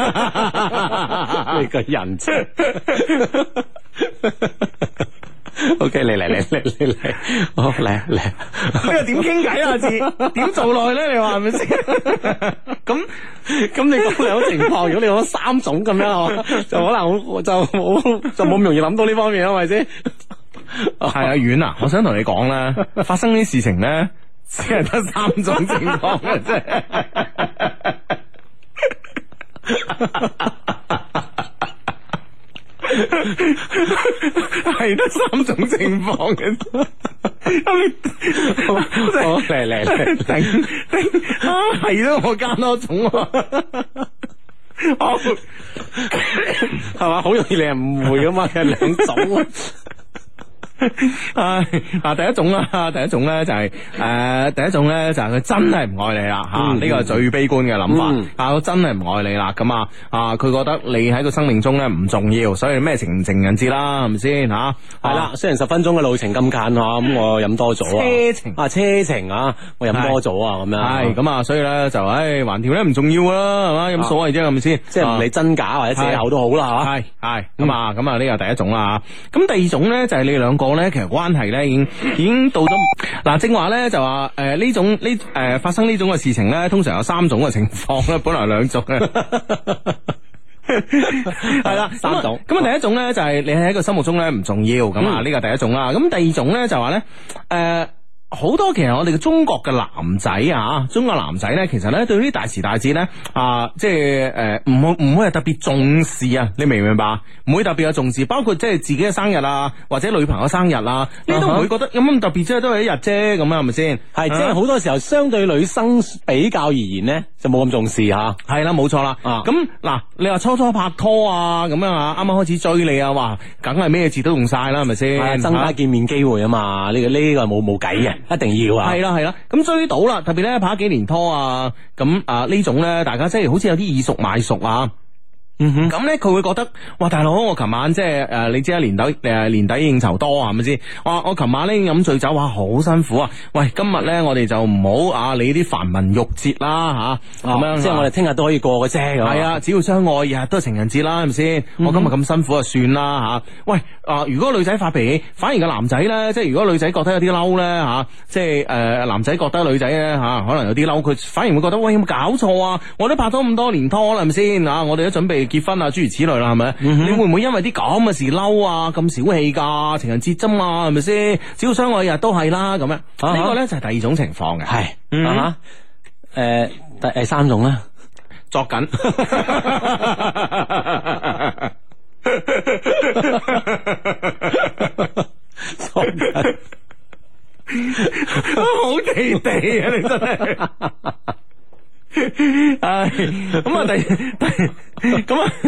你個人啫。O K， 嚟嚟嚟嚟嚟嚟，好嚟嚟。呢個點傾偈啊？字點做落去咧？你話係咪先？咁咁你講兩種情況，如果你講三種咁樣，就可能就冇就冇咁容易諗到呢方面，係咪先？ 係啊，遠啊！我想同你講咧，發生呢啲事情咧。只係得三種情況嘅啫，係得三種情況嘅。 好嚟嚟嚟， 頂頂啊，係咯，我加多種啊， 係嘛，好容易令人誤會噶嘛，係兩種。 唉，嗱，第一種啦，第一種咧就係、是、誒、呃，第一種咧就係佢真係唔愛你啦，吓、嗯，呢個係最悲觀嘅諗法，嗯、啊，我真係唔愛你啦，咁啊，啊，佢覺得你喺個生命中咧唔重要，所以咩情情人節啦，係咪先吓？係啦，雖然十分鐘嘅路程咁近吓，咁我飲多咗啊，車程啊，車程啊，我飲多咗啊，咁樣係咁啊，所以咧就唉，橫掂咧唔重要啦，係嘛，有乜所謂啫，係咪先？即係唔理真假或者借口都好啦，係係咁啊，咁啊呢個第一種啦，咁第二種咧就係你哋兩個咧，其實關係咧已經已經到咗嗱，正話咧就話誒呢種呢誒、呃、發生呢種嘅事情咧，通常有三種嘅情況咧，本來兩種嘅係啦，三種。咁啊，第一種咧就係你喺個心目中咧唔重要，咁啊呢個第一種啦。咁第二種咧就話咧誒。呃好多其實我哋嘅中國嘅男仔啊，中國男仔咧，其實咧對呢啲大時大節咧啊，即係誒唔會唔會係特別重視啊？你明唔明白？唔會特別有重視，包括即係自己嘅生日啊，或者女朋友生日啊，你都唔會覺得有咁特別啫，都係一日啫，咁啊係咪先？係，即係好多時候相對女生比較而言咧，就冇咁重視吓。係啦，冇錯啦。咁嗱，你話初初拍拖啊，咁樣啊，啱啱開始追你啊，哇，梗係咩字都用晒啦，係咪先？增加見面機會啊嘛，呢個呢個冇冇計嘅。一定要啊！係啦係啦，咁追到啦，特別咧拍幾年拖啊，咁啊呢種咧，大家即係好似有啲以熟買熟啊。嗯哼，咁咧佢會覺得，哇大佬，我琴晚即係誒，你知啦，年底誒年底應酬多係咪先？哇，我琴晚咧飲醉酒，哇好辛苦啊！喂，今日咧我哋就唔好啊理啲繁文縟節啦吓，咁樣即係我哋聽日都可以過嘅啫。係啊，只要相愛，日日都係情人節啦，係咪先？我今日咁辛苦就算啦吓。喂啊，如果女仔發脾氣，反而個男仔咧，即係如果女仔覺得有啲嬲咧吓，即係誒男仔覺得女仔咧吓，可能有啲嬲，佢反而會覺得喂有冇搞錯啊？我都拍咗咁多年拖啦，係咪先啊？我哋都準備結婚啊，諸如此類啦，係咪？嗯、哼你會唔會因為啲咁嘅事嬲啊？咁小氣噶，情人節啫嘛，係咪先？只要相愛日都係啦，咁樣呢、啊、哈個咧就係第二種情況嘅，係是，嗯哼，誒、呃，第第三種咧，作緊，作緊，好地地啊！你真係。唉，咁啊，第第咁啊，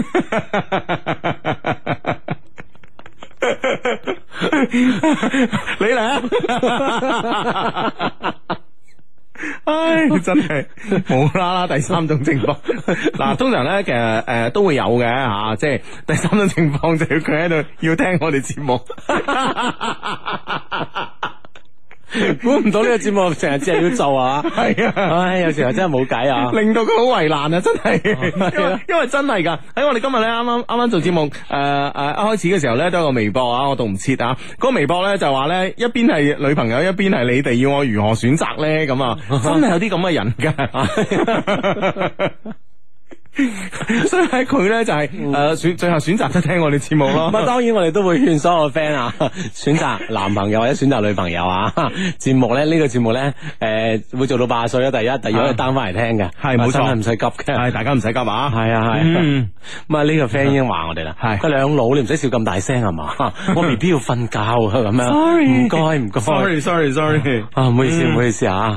你嚟啊！唉，真係冇啦啦，第三種情況嗱，通常咧其實誒都會有嘅吓，即係第三種情況就係佢喺度要聽我哋節目。估唔到呢個節目成日只係要做啊！係啊，唉，有時候真係冇計啊，令到佢好為難啊！真係，因為因為真係噶，喺我哋今日咧啱啱啱啱做節目，誒誒一開始嘅時候咧都有個微博啊，我讀唔切啊，嗰個微博咧就話咧一邊係女朋友，一邊係你哋，要我如何選擇咧？咁啊，真係有啲咁嘅人噶。所以喺佢咧就係誒選最後選擇都聽我哋節目咯。咁啊，當然我哋都會勸所有 friend 啊，選擇男朋友或者選擇女朋友啊。節目咧呢個節目咧誒會做到八十歲啊，第一，第二可以 down 翻嚟聽嘅，係冇錯，唔使急嘅，係大家唔使急啊。係啊係。咁啊呢個 friend 已經話我哋啦，係佢兩老，你唔使笑咁大聲係嘛？我 B B 要瞓覺啊咁樣。Sorry，唔該唔該。Sorry sorry sorry。啊唔好意思唔好意思啊。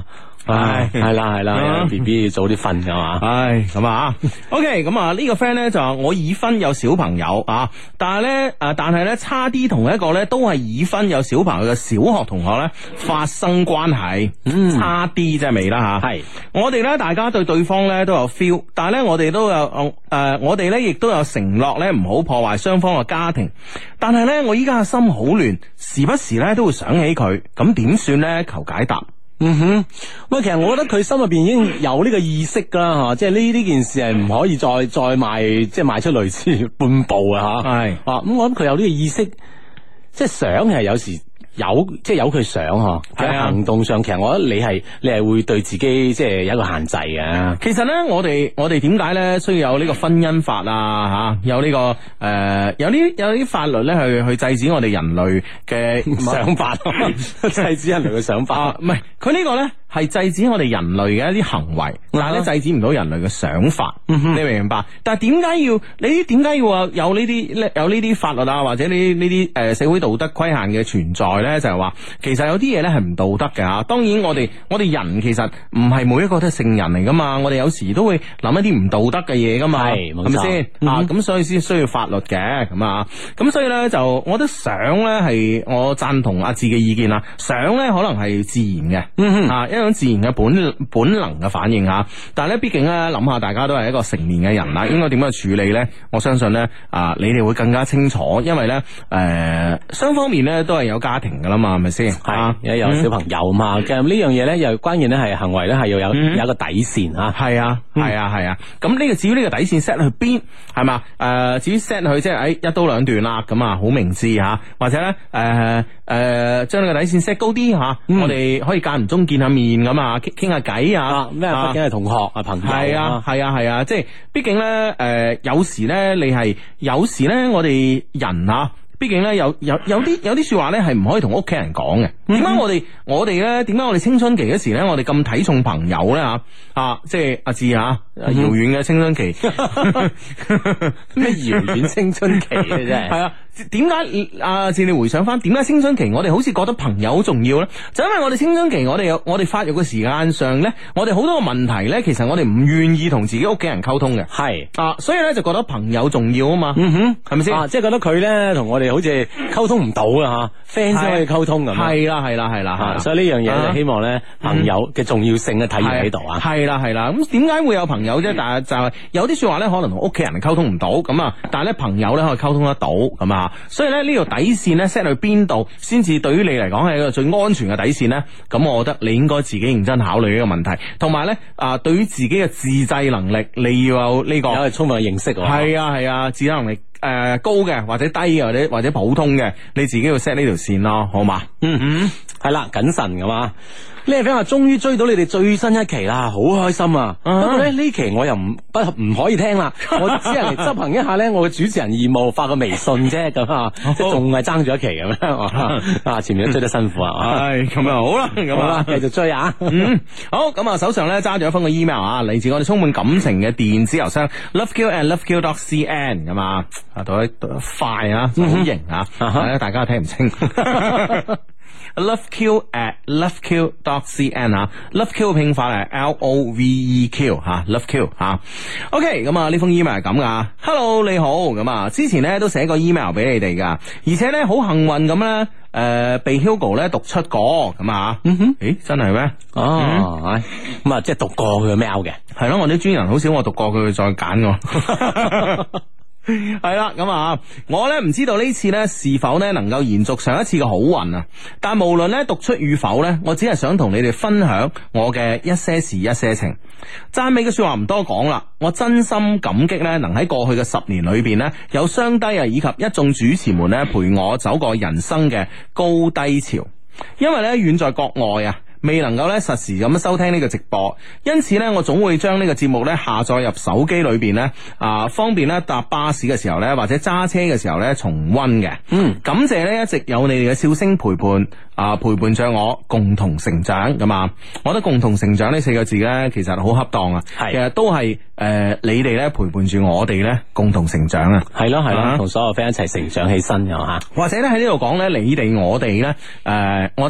唉，係啦係啦 ，B B 要早啲瞓噶嘛。 唉，咁啊，OK，咁啊呢個 friend 咧就話我已婚有小朋友啊，但係咧誒，但係咧差啲同一個咧都係已婚有小朋友嘅小學同學咧發生關係，嗯，差啲真係未啦吓。係我哋咧，大家對對方咧都有 feel， 但係咧我哋都有誒、呃，我哋咧亦都有承諾咧唔好破壞雙方嘅家庭。但係咧我依家嘅心好亂，時不時咧都會想起佢，咁點算咧？求解答。 嗯哼，喂，其實我覺得佢心入邊已經有呢個意識啦，吓，即係呢呢件事係唔可以再再邁，即係邁出類似半步啊，吓。係啊，咁我諗佢有呢個意識，即係想係有時。有即係有佢想嗬，喺行動上，其實我覺得你係你係會對自己即係有一個限制嘅。 其實咧，我哋我哋點解咧需要有呢個婚姻法啊？吓，有呢、這個誒、呃，有啲有啲法律咧去去制止我哋人類嘅想法，制止人類嘅想法。唔係、啊，佢呢個咧係制止我哋人類嘅一啲行為，但係咧制止唔到人類嘅想法。嗯、哼你明唔明白？但係點解要你點解要話有呢啲有呢啲法律啊，或者呢呢啲誒社會道德規限嘅存在咧？就係話，其實有啲嘢咧係唔道德嘅吓。當然我哋我哋人其實唔係每一個都係聖人嚟噶嘛，我哋有時都會諗一啲唔道德嘅嘢噶嘛，係咪先啊？咁所以先需要法律嘅咁啊。咁所以咧就，我覺得想咧係我贊同阿志嘅意見啦。想咧可能係自然嘅，嗯哼啊，一種自然嘅本本能嘅反應吓。但係咧，畢竟咧諗下，大家都係一個成年嘅人啦，應該點樣去處理咧？我相信咧啊，你哋會更加清楚，因為咧誒雙方面咧都係有家庭噶啦嘛，係咪先？係有有小朋友嘛？其實呢樣嘢咧，又關鍵咧係行為咧係要有有一個底線吓。係啊，係啊，係啊。咁呢個至於呢個底線 set 去邊係嘛？誒，至於 set 去即係誒一刀兩斷啦，咁啊好明智吓，或者咧誒誒將呢個底線 set 高啲吓，我哋可以間唔中見下面咁啊，傾傾下偈啊。咩？畢竟係同學啊，朋友。係啊，係啊，係啊，即係畢竟咧誒，有時咧你係有時咧我哋人啊。畢竟咧有有有啲有啲說話咧係唔可以同屋企人講嘅。點解我哋我哋咧？點解我哋青春期嗰時咧，我哋咁睇重朋友咧？吓啊，即係阿志啊，遙遠嘅青春期，咩遙遠青春期嘅真係。係啊，點解阿志你回想翻，點解青春期我哋好似覺得朋友好重要咧？就因為我哋青春期，我哋有我哋發育嘅時間上咧，我哋好多個問題咧，其實我哋唔願意同自己屋企人溝通嘅。係啊，所以咧就覺得朋友重要啊嘛。嗯哼，係咪先？啊，即係覺得佢咧同我哋好似溝通唔到啊吓 friend 先可以溝通咁。係啦係啦係啦吓，所以呢樣嘢就希望咧朋友嘅重要性咧體現喺度啊。係啦係啦，咁點解會有朋友啫？但係就係有啲說話咧，可能同屋企人溝通唔到咁啊，但係咧朋友咧可以溝通得到咁啊。所以咧呢條底線咧 set 去邊度，先至對於你嚟講係一個最安全嘅底線咧？咁我覺得你應該自己認真考慮呢個問題，同埋咧啊，對於自己嘅自制能力，你要有呢個有充分嘅認識。係啊係啊，自制能力。誒、呃，高嘅或者低嘅或者或者普通嘅，你自己要 set 呢條線咯，好嘛？嗯哼，係啦，謹慎噶嘛。呢個 friend 話終於追到你哋最新一期啦，好開心啊！不過咧呢期我又唔不唔可以聽啦，我只係嚟執行一下咧我嘅主持人義務，發個微信啫咁啊，即係仲係爭咗一期咁樣啊！前面都追得辛苦啊，係咁啊，好啦，咁啊，繼續追啊！嗯，好，咁啊，手上咧揸住一封個 email 啊，嚟自我哋充滿感情嘅電子郵箱 loveq and loveq dot cn 咁啊，啊讀得快啊，好型啊，大家聽唔清。loveq at loveq dot cn 啊 ，loveq 拼法係 L O V E Q 吓 ，loveq 吓。OK，咁啊呢封 email 係咁噶 ，Hello 你好，咁啊之前咧都寫過 email 俾你哋噶，而且咧好幸運咁咧，誒、呃、被 Hugo 咧讀出過，咁啊，嗯哼，誒真係咩？哦，咁啊、嗯、即係讀過佢嘅 mail 嘅，係咯，我啲專人好少我讀過佢再揀我。係啦，咁啊，我呢唔知道呢次呢是否呢能夠延續上一次嘅好運啊！但無論呢讀出與否呢，我只係想同你哋分享我嘅一些事一些情。讚美嘅說話唔多講啦，我真心感激呢能喺過去嘅十年裏邊呢，有雙低啊以及一眾主持們呢陪我走過人生嘅高低潮。因為呢遠在國外啊，未能夠咧實時咁樣收聽呢個直播，因此咧我總會將呢個節目咧下載入手機裏邊咧，啊方便咧搭巴士嘅時候咧或者揸車嘅時候咧重溫嘅。嗯，感謝咧一直有你哋嘅笑聲陪伴啊陪伴着我共同成長咁啊！我覺得共同成長呢四個字咧其實好恰當啊，係其實都係誒、呃、你哋咧陪伴住我哋咧共同成長啊，係咯係咯，同、啊、所有 friend 一齊成長起身嘅吓，或者咧喺呢度講咧你哋我哋咧誒，我覺得。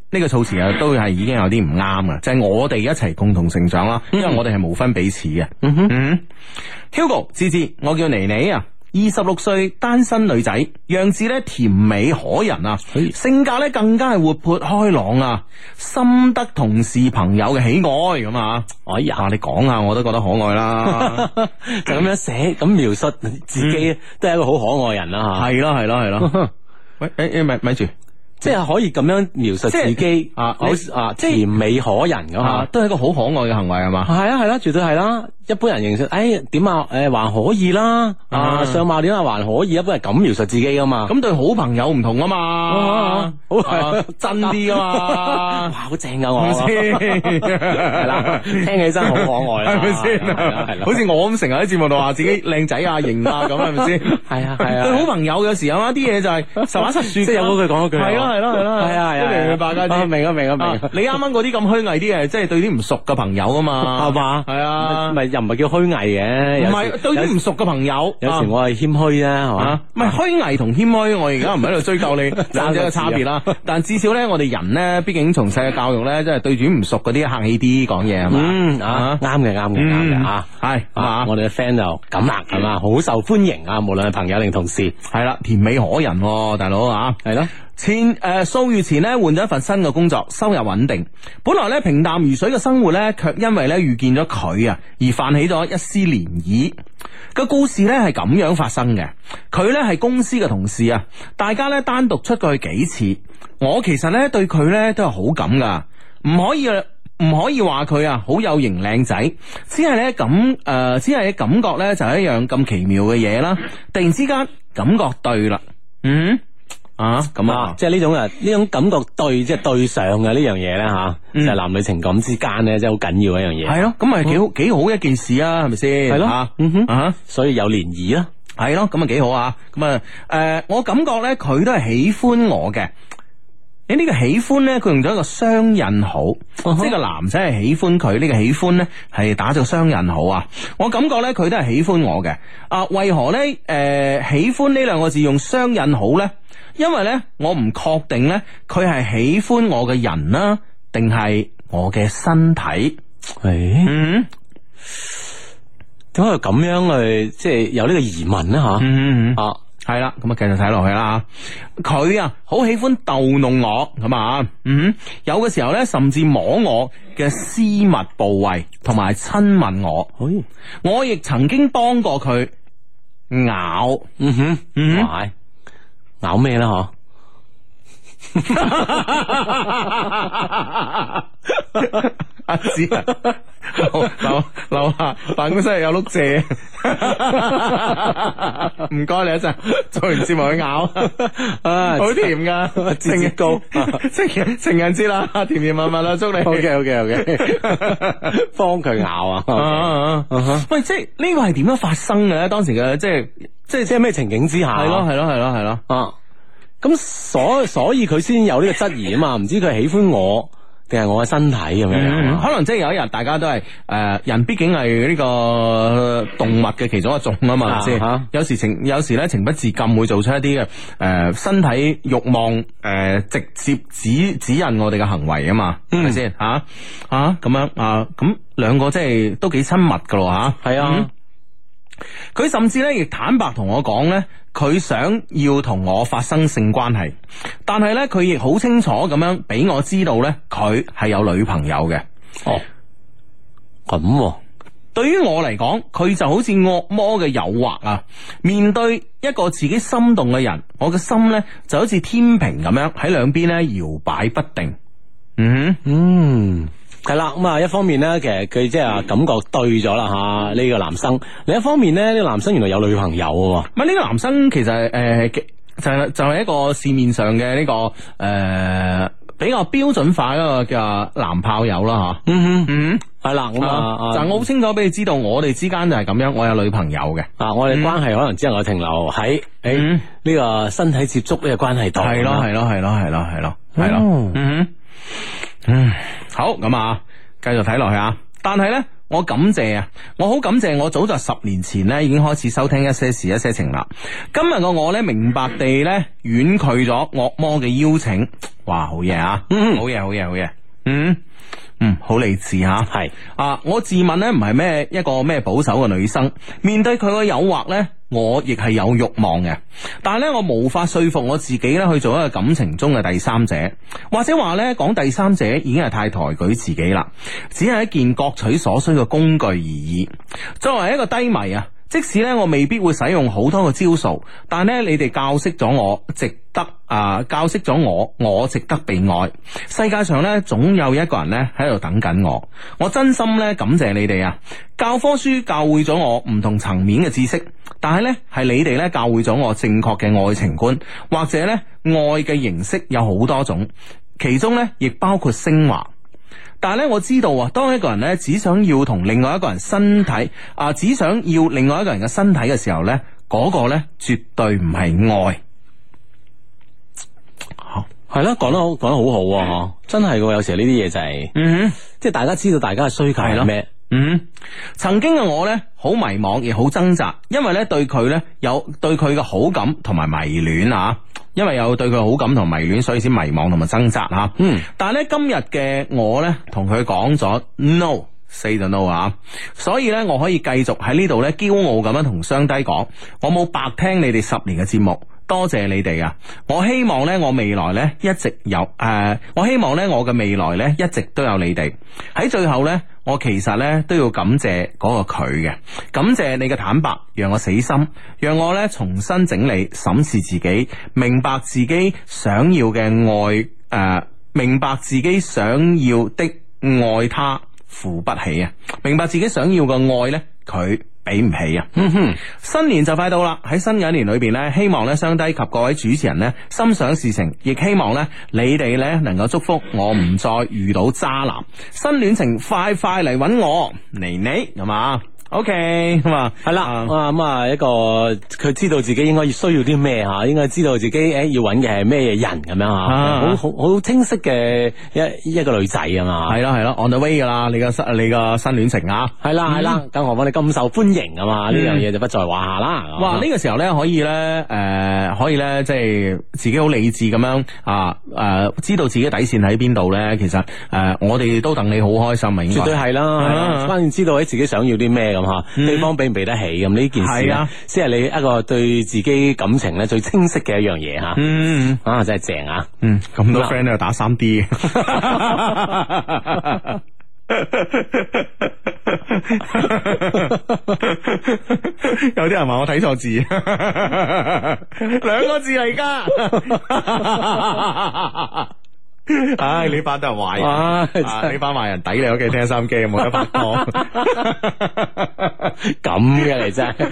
呢個措辭啊，都係已經有啲唔啱嘅，就係、是、我哋一齊共同成長啦，因為我哋係無分彼此嘅。嗯哼，嗯 Hugo 芝芝，我叫妮妮啊。二十六歲單身女仔，樣子咧甜美可人啊，性格咧更加係活潑開朗啊，深得同事朋友嘅喜愛咁啊！哎呀，你講下我都覺得可愛啦， 就咁樣寫咁描述自己，嗯、都係一個好可愛人啦吓。 係咯係咯係咯，喂誒誒咪咪住。 即係可以咁樣描述自己啊，好啊甜美可人咁啊， 都係一個好可愛嘅行為係嘛？ 係啊係啦，絕對係啦。一般人認識，誒點啊？誒還可以啦，啊相貌點啊還可以，一般係咁描述自己噶嘛。 咁對好朋友唔同啊嘛，好真啲啊嘛，哇好正啊我，係啦，聽起身好可愛啦， 係咪先？係啦，好似我咁成日喺節目度話自己靚仔啊型啊咁，係咪先？ 係啊係啊， 對好朋友有時候啊啲嘢就係實話實說，即係有嗰句講嗰句， 係咯係咯係咯，係啊係啊，明唔明白家姐？ 明啊明啊明。 你啱啱嗰啲咁虛偽啲嘅，即係對啲唔熟嘅朋友啊嘛，係嘛？係啊， 咪又唔係叫虛偽嘅， 唔係對啲唔熟嘅朋友。 有時我係謙虛啊，係嘛？ 唔係虛偽同謙虛，我而家唔喺度追究你兩者嘅差別啦。但至少咧，我哋人咧，畢竟從細嘅教育咧，即係對住唔熟嗰啲客氣啲講嘢係嘛？ 嗯啊，啱嘅啱嘅啱嘅啊，係啊，我哋嘅 friend 就咁啦，係嘛？好受歡迎啊，無論係朋友定同事， 係啦，甜美可人，大佬啊， 係咯。 前誒數月前咧換咗一份新嘅工作，收入穩定。本來咧平淡如水嘅生活咧，卻因為咧遇見咗佢啊，而泛起咗一絲漣漪。個故事咧係咁樣發生嘅。佢咧係公司嘅同事啊，大家咧單獨出過去幾次。我其實咧對佢咧都有好感噶，唔可以唔可以話佢啊好有型靚仔，只係咧咁誒，只係感覺咧就係一樣咁奇妙嘅嘢啦。突然之間感覺對啦，嗯。啊，咁啊， 即係呢種啊，呢種感覺對，即係對上嘅呢樣嘢咧吓，就係男女情感之間咧，即係好緊要嘅一樣嘢。 係咯，咁咪幾好幾好一件事啊，係咪先？係咯，嗯哼，啊， 所以有漣漪啦， 係咯，咁啊幾好啊，咁啊，誒，我感覺咧佢都係喜歡我嘅。你呢個喜歡咧，佢用咗一個雙引號，即係個男仔係喜歡佢，呢個喜歡咧係打咗雙引號啊。我感覺咧佢都係喜歡我嘅。啊，為何咧？誒，喜歡呢兩個字用雙引號咧？因為咧，我唔確定咧，佢係喜歡我嘅人啦，定係我嘅身體？誒，嗯，點解咁樣去即係有呢個疑問咧？吓，嗯嗯啊，係啦，咁啊，繼續睇落去啦。佢啊，好喜歡逗弄我，咁啊，嗯，有嘅時候咧，甚至摸我嘅私密部位，同埋親吻我。誒，我亦曾經幫過佢咬，嗯哼，嗯哼。 咬咩啦？嗬， 阿子啊，樓樓下辦公室有碌蔗，唔該你一陣，做完節目去咬，啊，好甜噶，節節高，情情人節啦，甜甜蜜蜜啦，祝你。 OK OK OK， 幫佢咬啊！啊啊啊喂，即係呢個係點樣發生嘅咧？當時嘅即係。 即係即係咩情景之下？ 係咯係咯係咯係咯啊！咁所所以佢先有呢個質疑啊嘛，唔知佢係喜歡我定係我嘅身體咁樣、嗯？ 可能即係有一日大家都係誒、呃、人，畢竟係呢個動物嘅其中一種啊嘛，即係、啊、有時情有時咧情不自禁會做出一啲嘅誒身體慾望誒、呃、直接指指引我哋嘅行為啊嘛，係咪先吓吓咁樣啊？咁兩個即係都幾親密噶咯吓，係啊。嗯佢甚至咧亦坦白同我講咧，佢想要同我發生性關係，但係咧佢亦好清楚咁樣俾我知道咧，佢係有女朋友嘅。哦，咁、啊，對於我嚟講，佢就好似惡魔嘅誘惑啊！面對一個自己心動嘅人，我嘅心咧就好似天平咁樣喺兩邊咧搖擺不定。嗯嗯。 係啦，咁啊，一方面咧，其實佢即係感覺對咗啦吓，呢個男生；另一方面咧，呢個男生原來有女朋友喎。 唔係呢個男生其實誒、呃，就係就係一個市面上嘅呢、這個誒、呃、比較標準化一個叫男炮友啦吓。嗯哼嗯，係啦，咁啊，但我好清楚俾你知道，我哋之間就係咁樣，我有女朋友嘅啊， 我哋關係可能只能夠停留喺誒呢個身體接觸呢個關係度。 係咯係咯係咯係咯係咯係咯。嗯嗯，好，咁啊，繼續睇落去啊！但係呢，我感謝啊，我好感謝我早在十年前呢已經開始收聽一些事一些情啦。今日個我呢，明白地呢婉拒咗惡魔嘅邀請。 哇，好嘢啊！嗯，好嘢，好嘢，好嘢。嗯嗯，好理智吓。係啊，我自問咧唔係咩一個咩保守嘅女生，面對佢嘅誘惑咧，我亦係有欲望嘅。但係咧，我無法說服我自己咧去做一個感情中嘅第三者，或者話咧講第三者已經係太抬舉自己啦，只係一件各取所需嘅工具而已。作為一個低迷啊，即使咧我未必會使用好多嘅招數，但係咧你哋教識咗我值得啊、呃，教識咗我我值得被愛。世界上咧總有一個人咧喺度等緊我，我真心咧感謝你哋啊！教科書教會咗我唔同層面嘅知識，但係咧係你哋咧教會咗我正確嘅愛情觀，或者咧愛嘅形式有好多種，其中咧亦包括升華。但係咧，我知道啊，當一個人咧只想要同另外一個人身體啊，只想要另外一個人嘅身體嘅時候咧，嗰個咧絕對唔係愛。好係咯，講得好，講得好好啊！真係嘅，有時呢啲嘢就係，嗯哼，即係大家知道大家嘅需求係咩？ 嗯，曾經嘅我咧好迷茫，亦好掙扎，因為咧對佢咧有對佢嘅好感同埋迷戀啊。因為有對佢好感同迷戀，所以先迷茫同埋掙扎吓。嗯，但係咧今日嘅我咧，同佢講咗 no，say 咗 no 啊，所以咧我可以繼續喺呢度咧驕傲咁樣同雙低講，我冇白聽你哋十年嘅節目，多謝你哋啊！我希望咧我未來咧一直有誒、呃，我希望咧我嘅未來咧一直都有你哋。喺最後咧，我其實咧都要感謝嗰個佢嘅，感謝你嘅坦白，讓我死心，讓我咧重新整理審視自己，明白自己想要嘅愛誒、呃，明白自己想要的愛他付不起啊，明白自己想要嘅愛咧佢俾唔起啊！嗯哼，新年就快到啦，喺新嘅一年裏邊咧，希望咧雙低及各位主持人咧心想事成，亦希望咧你哋咧能夠祝福我唔再遇到渣男，新戀情快快嚟揾我，妮妮係嘛？ OK 咁啊， 係啦，啊咁啊一個佢知道自己應該需要啲咩吓，應該知道自己誒要揾嘅係咩人咁樣吓，好好好清晰嘅一一個女仔啊嘛， 係咯係咯 on the way 噶啦，你個新你個新戀情啊， 係啦係啦，更何況你咁受歡迎啊嘛，呢樣嘢就不在話下啦。 哇，呢個時候咧可以咧誒可以咧即係自己好理智咁樣啊誒知道自己底線喺邊度咧，其實誒我哋都等你好開心啊，應該絕對係啦，係啦，關鍵知道喺自己想要啲咩。咁吓，對方俾唔俾得起咁呢件事咧，先係你一個對自己感情咧最清晰嘅一樣嘢吓。嗯，啊真係正啊！ 嗯，咁多 friend 喺度打三 D， 有啲人話我睇錯字，兩個字嚟噶。唉、哎，你班都係壞人，啊、你班壞人抵你屋企聽收音機，冇得拍拖。 咁嘅你真係，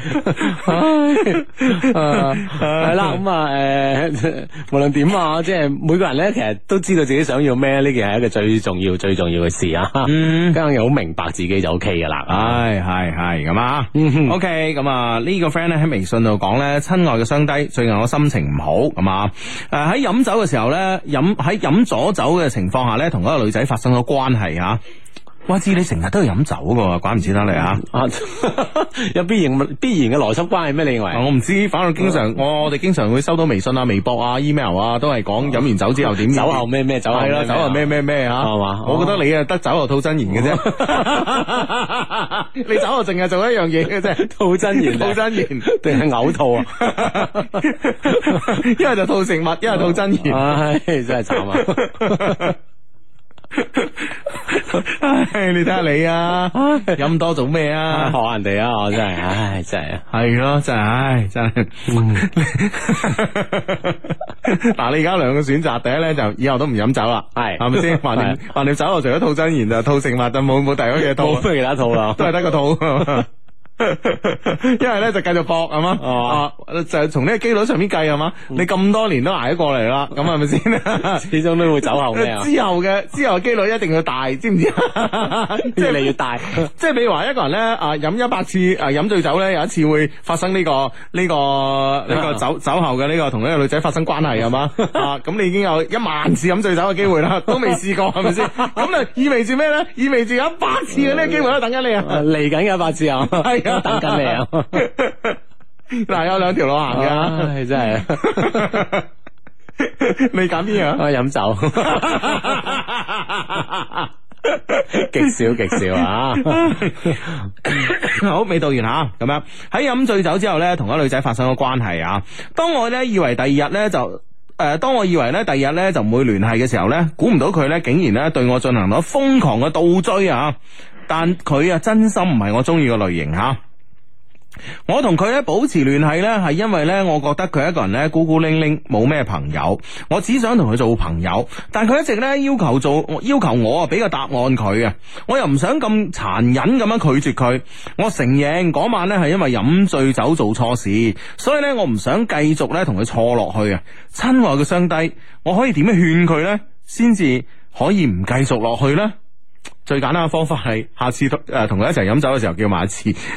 係啦，咁啊，誒，無論點啊，即係每個人咧，其實都知道自己想要咩，呢件係一個最重要、最重要嘅事啊。嗯，咁又好明白自己就 O K 噶啦。 唉，係係咁啊。O K，咁啊，呢個 friend 咧喺微信度講咧，親愛嘅雙低，最近我心情唔好，咁啊，誒喺飲酒嘅時候咧，飲喺飲咗。酒嘅情況下咧，同嗰個女仔發生咗關係吓。我知你成日都係飲酒噶，怪唔知得你啊！ 有必然必然嘅邏輯關係咩？你認為？ 我唔知，反正經常我我哋經常會收到微信啊、微博啊、email 啊，都係講飲完酒之後點？ 酒後咩咩？酒後係啦， 酒後咩咩咩吓？係嘛？我覺得你啊得酒後吐真言嘅啫，你酒後淨係做一樣嘢嘅啫， 吐真言， 吐真言定係嘔吐啊？ 一係就吐食物，一係吐真言， 唉，真係慘啊！ 唉，你睇下你啊，飲多做咩啊？ 學人哋啊，我真係，唉，真係， 係咯，真係，唉，真係。嗱，你而家兩個選擇，第一咧就以後都唔飲酒啦，係，係咪先？橫掂橫掂酒後除咗吐真言就吐食物，就冇冇第二嘢吐， 冇其他吐啦， 都係得個吐。一係咧就繼續搏係嘛，啊就係從呢個機率上面計係嘛，你咁多年都挨咗過嚟啦，咁係咪先？ 始終都會走後咩啊？ 之後嘅之後嘅機率一定要大，知唔知？ 越嚟越大。 即係比如話一個人咧啊飲一百次啊飲醉酒咧，有一次會發生呢個呢個呢個酒酒後嘅呢個同呢個女仔發生關係係嘛啊？咁你已經有一萬次飲醉酒嘅機會啦，都未試過係咪先？咁啊意味住咩咧？意味住有一百次嘅呢個機會都等緊你啊！ 嚟緊嘅一百次啊！係。等緊你啊！嗱， 有兩條路行嘅， 真係。 你揀邊樣？ 我飲酒。極少極少啊！ 好，未到完吓，咁樣喺飲醉酒之後呢，同一女仔發生咗關係啊。當我呢以為第二日呢，就誒、呃，當我以為呢第二日呢就唔會聯繫嘅時候呢，估唔到佢呢竟然呢對我進行咗瘋狂嘅倒追啊！但佢啊真心唔係我中意嘅類型吓。我同佢咧保持聯繫呢，係因為呢，我覺得佢一個人呢孤孤零零，冇咩朋友。我只想同佢做朋友，但佢一直呢要求做，要求我啊俾個答案佢啊。我又唔想咁殘忍咁樣拒絕佢。我承認嗰晚呢係因為飲醉酒做錯事，所以呢，我唔想繼續呢同佢錯落去啊。親愛嘅雙低，我可以點樣勸佢呢？先至可以唔繼續落去呢？最簡單嘅方法係下次誒同佢一齊飲酒嘅時候叫埋一次，梗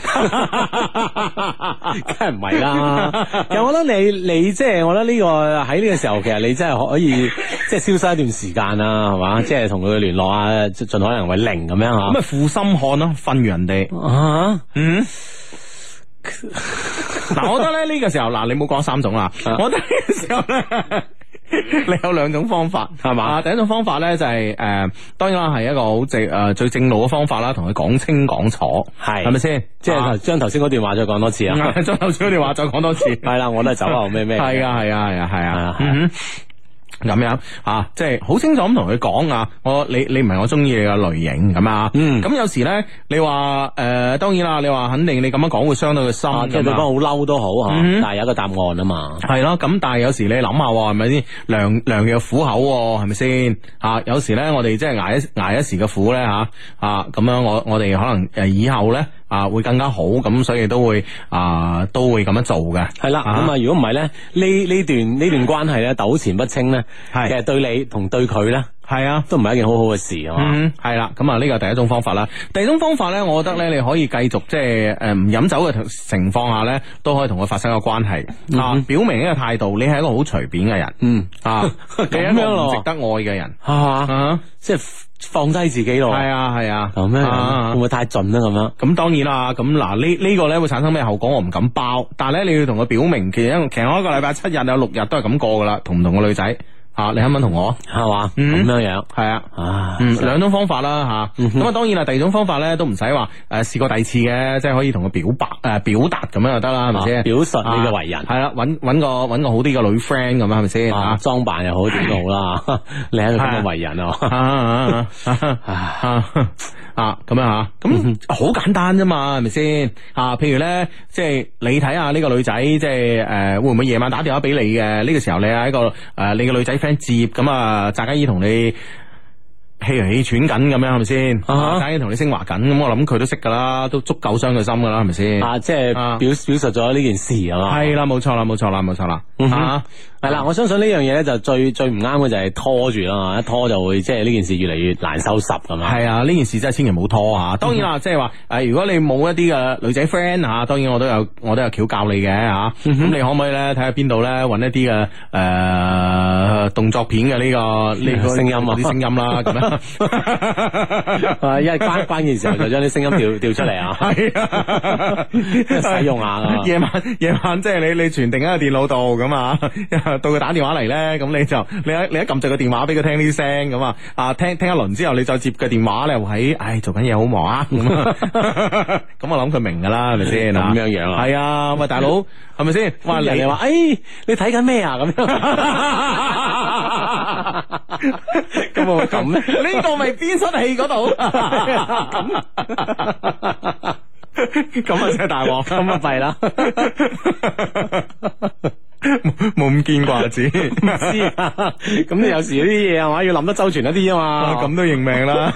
係唔係啦。其實我覺得你你即係我覺得呢個喺呢個時候，其實你真係可以即係消失一段時間啦，係嘛？即係同佢聯絡啊，盡可能為零咁樣吓。咁咪負心漢咯，瞓完人哋啊，嗯。嗱，我覺得咧呢個時候，嗱你冇講三種啦，我覺得呢個時候咧。你有兩種方法係嘛？啊，第一種方法咧就係、是、誒、呃，當然啦係一個好正誒最正路嘅方法啦，同佢講清講楚，係係咪先？即係將頭先嗰段話再講多次啊！將頭先嗰段話再講多次，係啦，我都係走後咩咩，係啊係啊係啊係啊。咁樣啊，即係好清楚咁同佢講啊，我你你唔係我中意你嘅類型咁啊，嗯，咁有時咧，你話誒、呃，當然啦，你話肯定你咁樣講會傷到佢心，即係對方好嬲都好吓，嗯、但係有一個答案啊嘛，係咯，咁但係有時你諗下係咪先，良良藥苦口係咪先啊？有時咧，我哋即係挨一挨一時嘅苦咧吓啊，咁樣我我哋可能誒以後咧。啊，會更加好，咁所以都會啊，都會咁樣做嘅。係啦，咁啊，如果唔係咧，呢呢段呢段關係咧糾纏不清咧，係其實對你同對佢咧，係啊，都唔係一件好好嘅事啊嘛。嗯，係啦，咁啊呢個第一種方法啦。第二種方法咧，我覺得咧，你可以繼續即係誒唔飲酒嘅情況下咧，都可以同佢發生個關係啊，表明呢個態度，你係一個好隨便嘅人。嗯啊，你係一個唔值得愛嘅人，係嘛？即係。放低自己咯，係啊係啊，咁樣、啊、會唔會太盡咧？咁樣咁當然啦，咁嗱呢呢個咧會產生咩後果？我唔敢包，但係咧你要同佢表明，其實其實我一個禮拜七日有六日都係咁過噶啦，同唔同個女仔啊？你肯唔肯同我係嘛？咁樣樣係啊，嗯，兩種方法啦吓，咁啊當然啦，第二種方法咧都唔使話誒試過第二次嘅，即係可以同佢表白誒、呃、表達咁樣就得啦，係咪先？表述你嘅為人係啦，搵搵個搵個好啲嘅女 friend 咁樣係咪先？啊，裝扮又好點都好啦，你係一個咁嘅為人啊！啊咁樣吓，咁好簡單啫嘛，係咪先？啊，譬如咧，即係你睇下呢個女仔，即係誒，會唔會夜晚打電話俾你嘅？呢個時候你係一個誒，你嘅女仔 friend 接，咁啊，扎嘉怡同你氣嚟氣喘緊咁樣，係咪先？扎嘉怡同你升華緊，咁我諗佢都識噶啦，都足夠傷佢心噶啦，係咪先？啊，即係表表述咗呢件事係嘛？係啦，冇錯啦，冇錯啦，冇錯啦。啊，係啦，我相信呢樣嘢咧就最最唔啱嘅就係拖住啦，一拖就會即係呢件事越嚟越難收拾咁嘛。係啊，呢件事真係千祈唔好拖啊！當然啦，即係話誒，如果你冇一啲嘅女仔 friend 吓，當然我都有我都有橋教你嘅吓。咁你可唔可以咧睇下邊度咧搵一啲嘅誒動作片嘅呢個呢個聲音啊啲聲音啦咁樣。啊，因為關關鍵時候就將啲聲音調調出嚟啊。係啊，使用下噶。夜晚夜晚即係你你傳定喺個電腦度咁啊。到佢打電話嚟咧，咁你就你一你一撳著個電話俾佢聽啲聲咁啊，啊聽聽一輪之後，你再接個電話咧，喺唉做緊嘢好忙啊，咁咁我諗佢明噶啦，係咪先？咁樣樣啊？係啊，喂大佬，係咪先？哇人哋話，誒你睇緊咩啊？咁樣，咁會咁咧？呢個咪邊出戲嗰度？咁啊真係大鑊，咁啊弊啦。冇咁見啩子，唔知啊！咁你有時啲嘢係嘛，要諗得周全一啲啊嘛，咁都認命啦。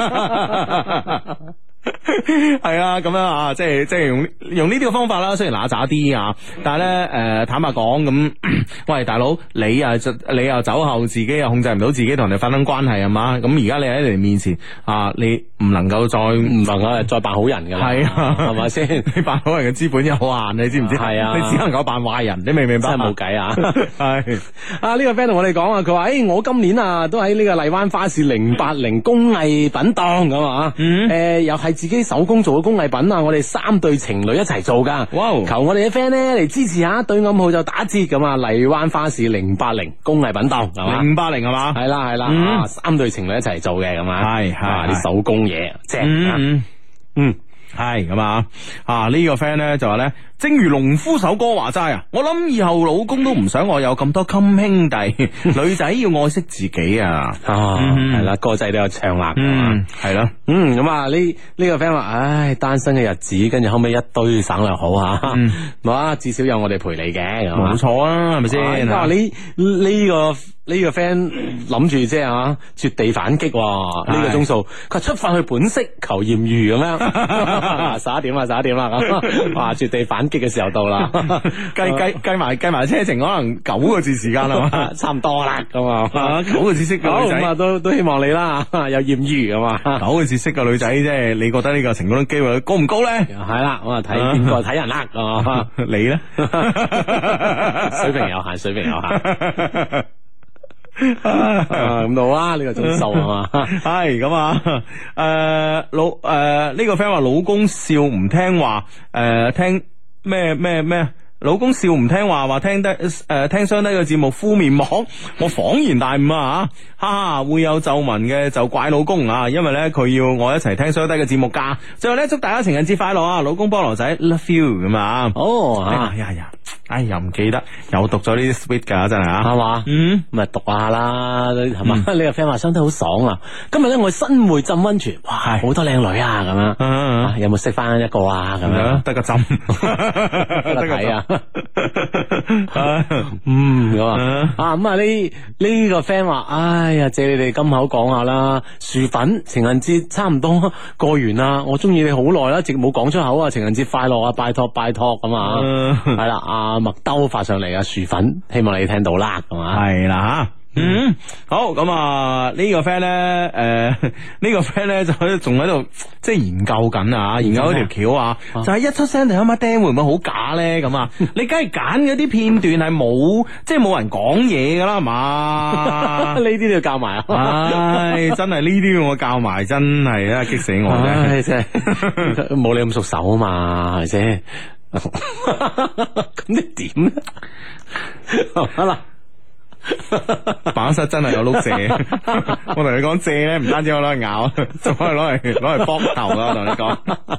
係啊，咁樣啊，即係即係用用呢啲嘅方法啦。雖然乸渣啲啊，但係咧誒，坦白講咁，喂大佬，你啊你又酒後自己又控制唔到自己同人哋發生關係係嘛？咁而家你喺你哋面前啊，你唔能夠再唔能夠再扮好人噶啦，係啊，係咪先？你扮好人嘅資本有限，你知唔知？係啊，你只能夠扮壞人，你明唔明白？真係冇計啊！係啊，呢個 friend 同我哋講啊，佢話誒，我今年啊都喺呢個荔灣花市零八零工藝品檔咁啊，誒又係自己啲手工做嘅工藝品啊，我哋三對情侶一齊做噶。哇！求我哋嘅 friend 咧嚟支持下，對暗號就打折咁啊！荔灣花市零八零工藝品檔係嘛？ 零八零係嘛？ 係啦係啦，啊三對情侶一齊做嘅咁啊，係係啲手工嘢正啊，嗯。 係咁啊！啊、這個、呢個 friend 咧就話咧，正如農夫首歌話齋啊，我諗以後老公都唔想我有咁多襟兄弟，女仔要愛惜自己啊！ 啊，係啦、嗯，歌仔都有唱啦， 嗯，係咯， 嗯，咁啊呢呢個 friend 話，唉，單身嘅日子，跟住後尾一堆省略好啊，哇、嗯，至少有我哋陪你嘅， 冇錯啊，係咪先？ 哇，呢呢個。呢個 friend 諗住即係啊，絕地反擊呢個鐘數，佢出發去本色求艷遇咁樣，十一點啦，十一點啦，咁哇，絕地反擊嘅時候到啦， 計計計埋計埋車程，可能九個字時間啦嘛， 差唔多啦，咁啊， 九個字識嘅女仔， 咁啊都都希望你啦，有艷遇咁嘛， 九個字識嘅女仔，即係你覺得呢個成功機會高唔高咧？ 係啦，我啊睇邊個睇人啦， 你咧？ 水平有限，水平有限。咁到啊！呢個鐘數係嘛？ 係咁啊！誒，老誒呢個 friend 話老公笑唔聽話，誒聽咩咩咩？老公笑唔聽話，話聽得誒聽雙低嘅節目敷面膜，我恍然大悟啊！哈哈，會有皺紋嘅就怪老公啊，因為咧佢要我一齊聽雙低嘅節目噶。最後咧祝大家情人節快樂啊！老公菠蘿仔 love you 咁啊！哦，哎呀呀，哎又唔記得，又讀咗呢啲 sweet 噶真係啊，係嘛？嗯，咪讀下啦，係嘛？呢個 friend 話雙低好爽啊！今日咧我新會浸溫泉，哇，好多靚女啊咁樣，有冇識翻一個啊咁樣？得個浸，得個睇啊！嗯咁啊啊咁啊呢呢個 friend 話，哎呀借你哋金口講下啦，薯粉情人節差唔多過完啦，我中意你好耐啦，一直冇講出口啊，情人節快樂啊，拜託拜託咁啊，係啦，阿麥兜發上嚟啊，薯粉，希望你聽到啦，係嘛，係啦吓。嗯，好咁啊！呢個 friend 咧，誒，呢個 friend 咧就喺仲喺度即係研究緊啊，研究嗰條橋啊，就係一出聲就一乜釘會唔會好假咧？咁啊，你梗係揀嗰啲片段係冇，即係冇人講嘢噶啦，係嘛？呢啲都要教埋啊！唉，真係呢啲要我教埋，真係啊，激死我啫！真係冇你咁熟手啊嘛，係咪先？咁你點咧？好啦。辦公室真係有碌蔗，我同你講蔗咧，唔單止可以攞嚟咬，仲可以攞嚟攞嚟卜頭啦！我同你講，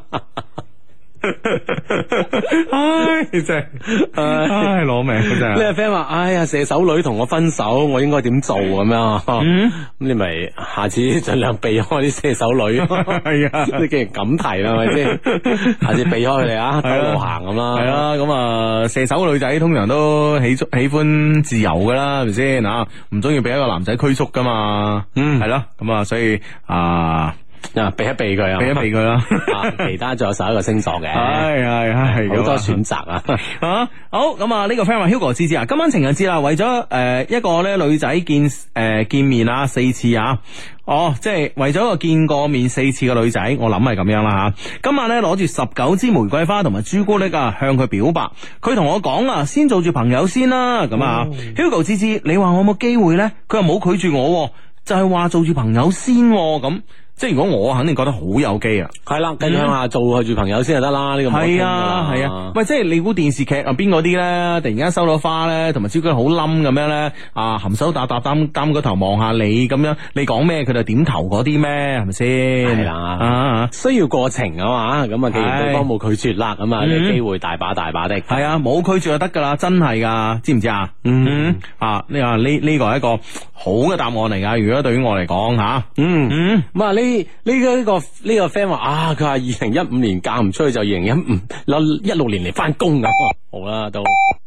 唉真係，唉攞命真係。呢個 friend 話：哎呀，射手女同我分手，我應該點做咁樣？咁你咪下次盡量避開啲射手女。係啊，你既然咁提啦，係咪先？下次避開佢哋啊，兜路行咁啦。係啊，咁啊，射手女仔通常都喜喜歡自由噶啦，係咪先啊？唔中意俾一個男仔拘束噶嘛。嗯，係咯，咁啊，所以啊。啊，避一避佢啊，避一避佢啦。其他仲有十一個星座嘅，係係係好多選擇啊。啊，好咁啊，呢個 friend 話 Hugo 芝芝啊，今晚情人節啦，為咗誒、呃、一個咧女仔見誒、呃、見面啊四次啊，哦，即係為咗一個見過面四次嘅女仔，我諗係咁樣啦吓、啊。今晚咧攞住十九支玫瑰花同埋朱古力啊，向佢表白。佢同我講啊，先做住朋友先啦。咁啊、嗯、，Hugo 芝芝，你話我有冇機會咧？佢又冇拒絕我，就係、是、話做住朋友先咁。即係如果我肯定覺得好有機啊，係啦，繼續向下做住朋友先就得啦。呢個係啊係啊，喂，即係你估電視劇入邊嗰啲咧，突然間收到花咧，同埋朱古力好冧咁樣咧，啊含羞答答擔擔個頭望下你咁樣，你講咩佢就點頭嗰啲咩，係咪先？係啦，啊需要過程啊嘛，咁啊既然對方冇拒絕啦，咁啊你機會大把大把的。係啊，冇拒絕就得噶啦，真係噶，知唔知啊？嗯啊，呢啊呢呢個係一個好嘅答案嚟噶，如果對於我嚟講吓，嗯嗯，咁啊呢。呢呢個呢個呢個 friend 話啊，佢話二零一五年嫁唔出去就二零一五，一六年嚟翻工咁，好啦都。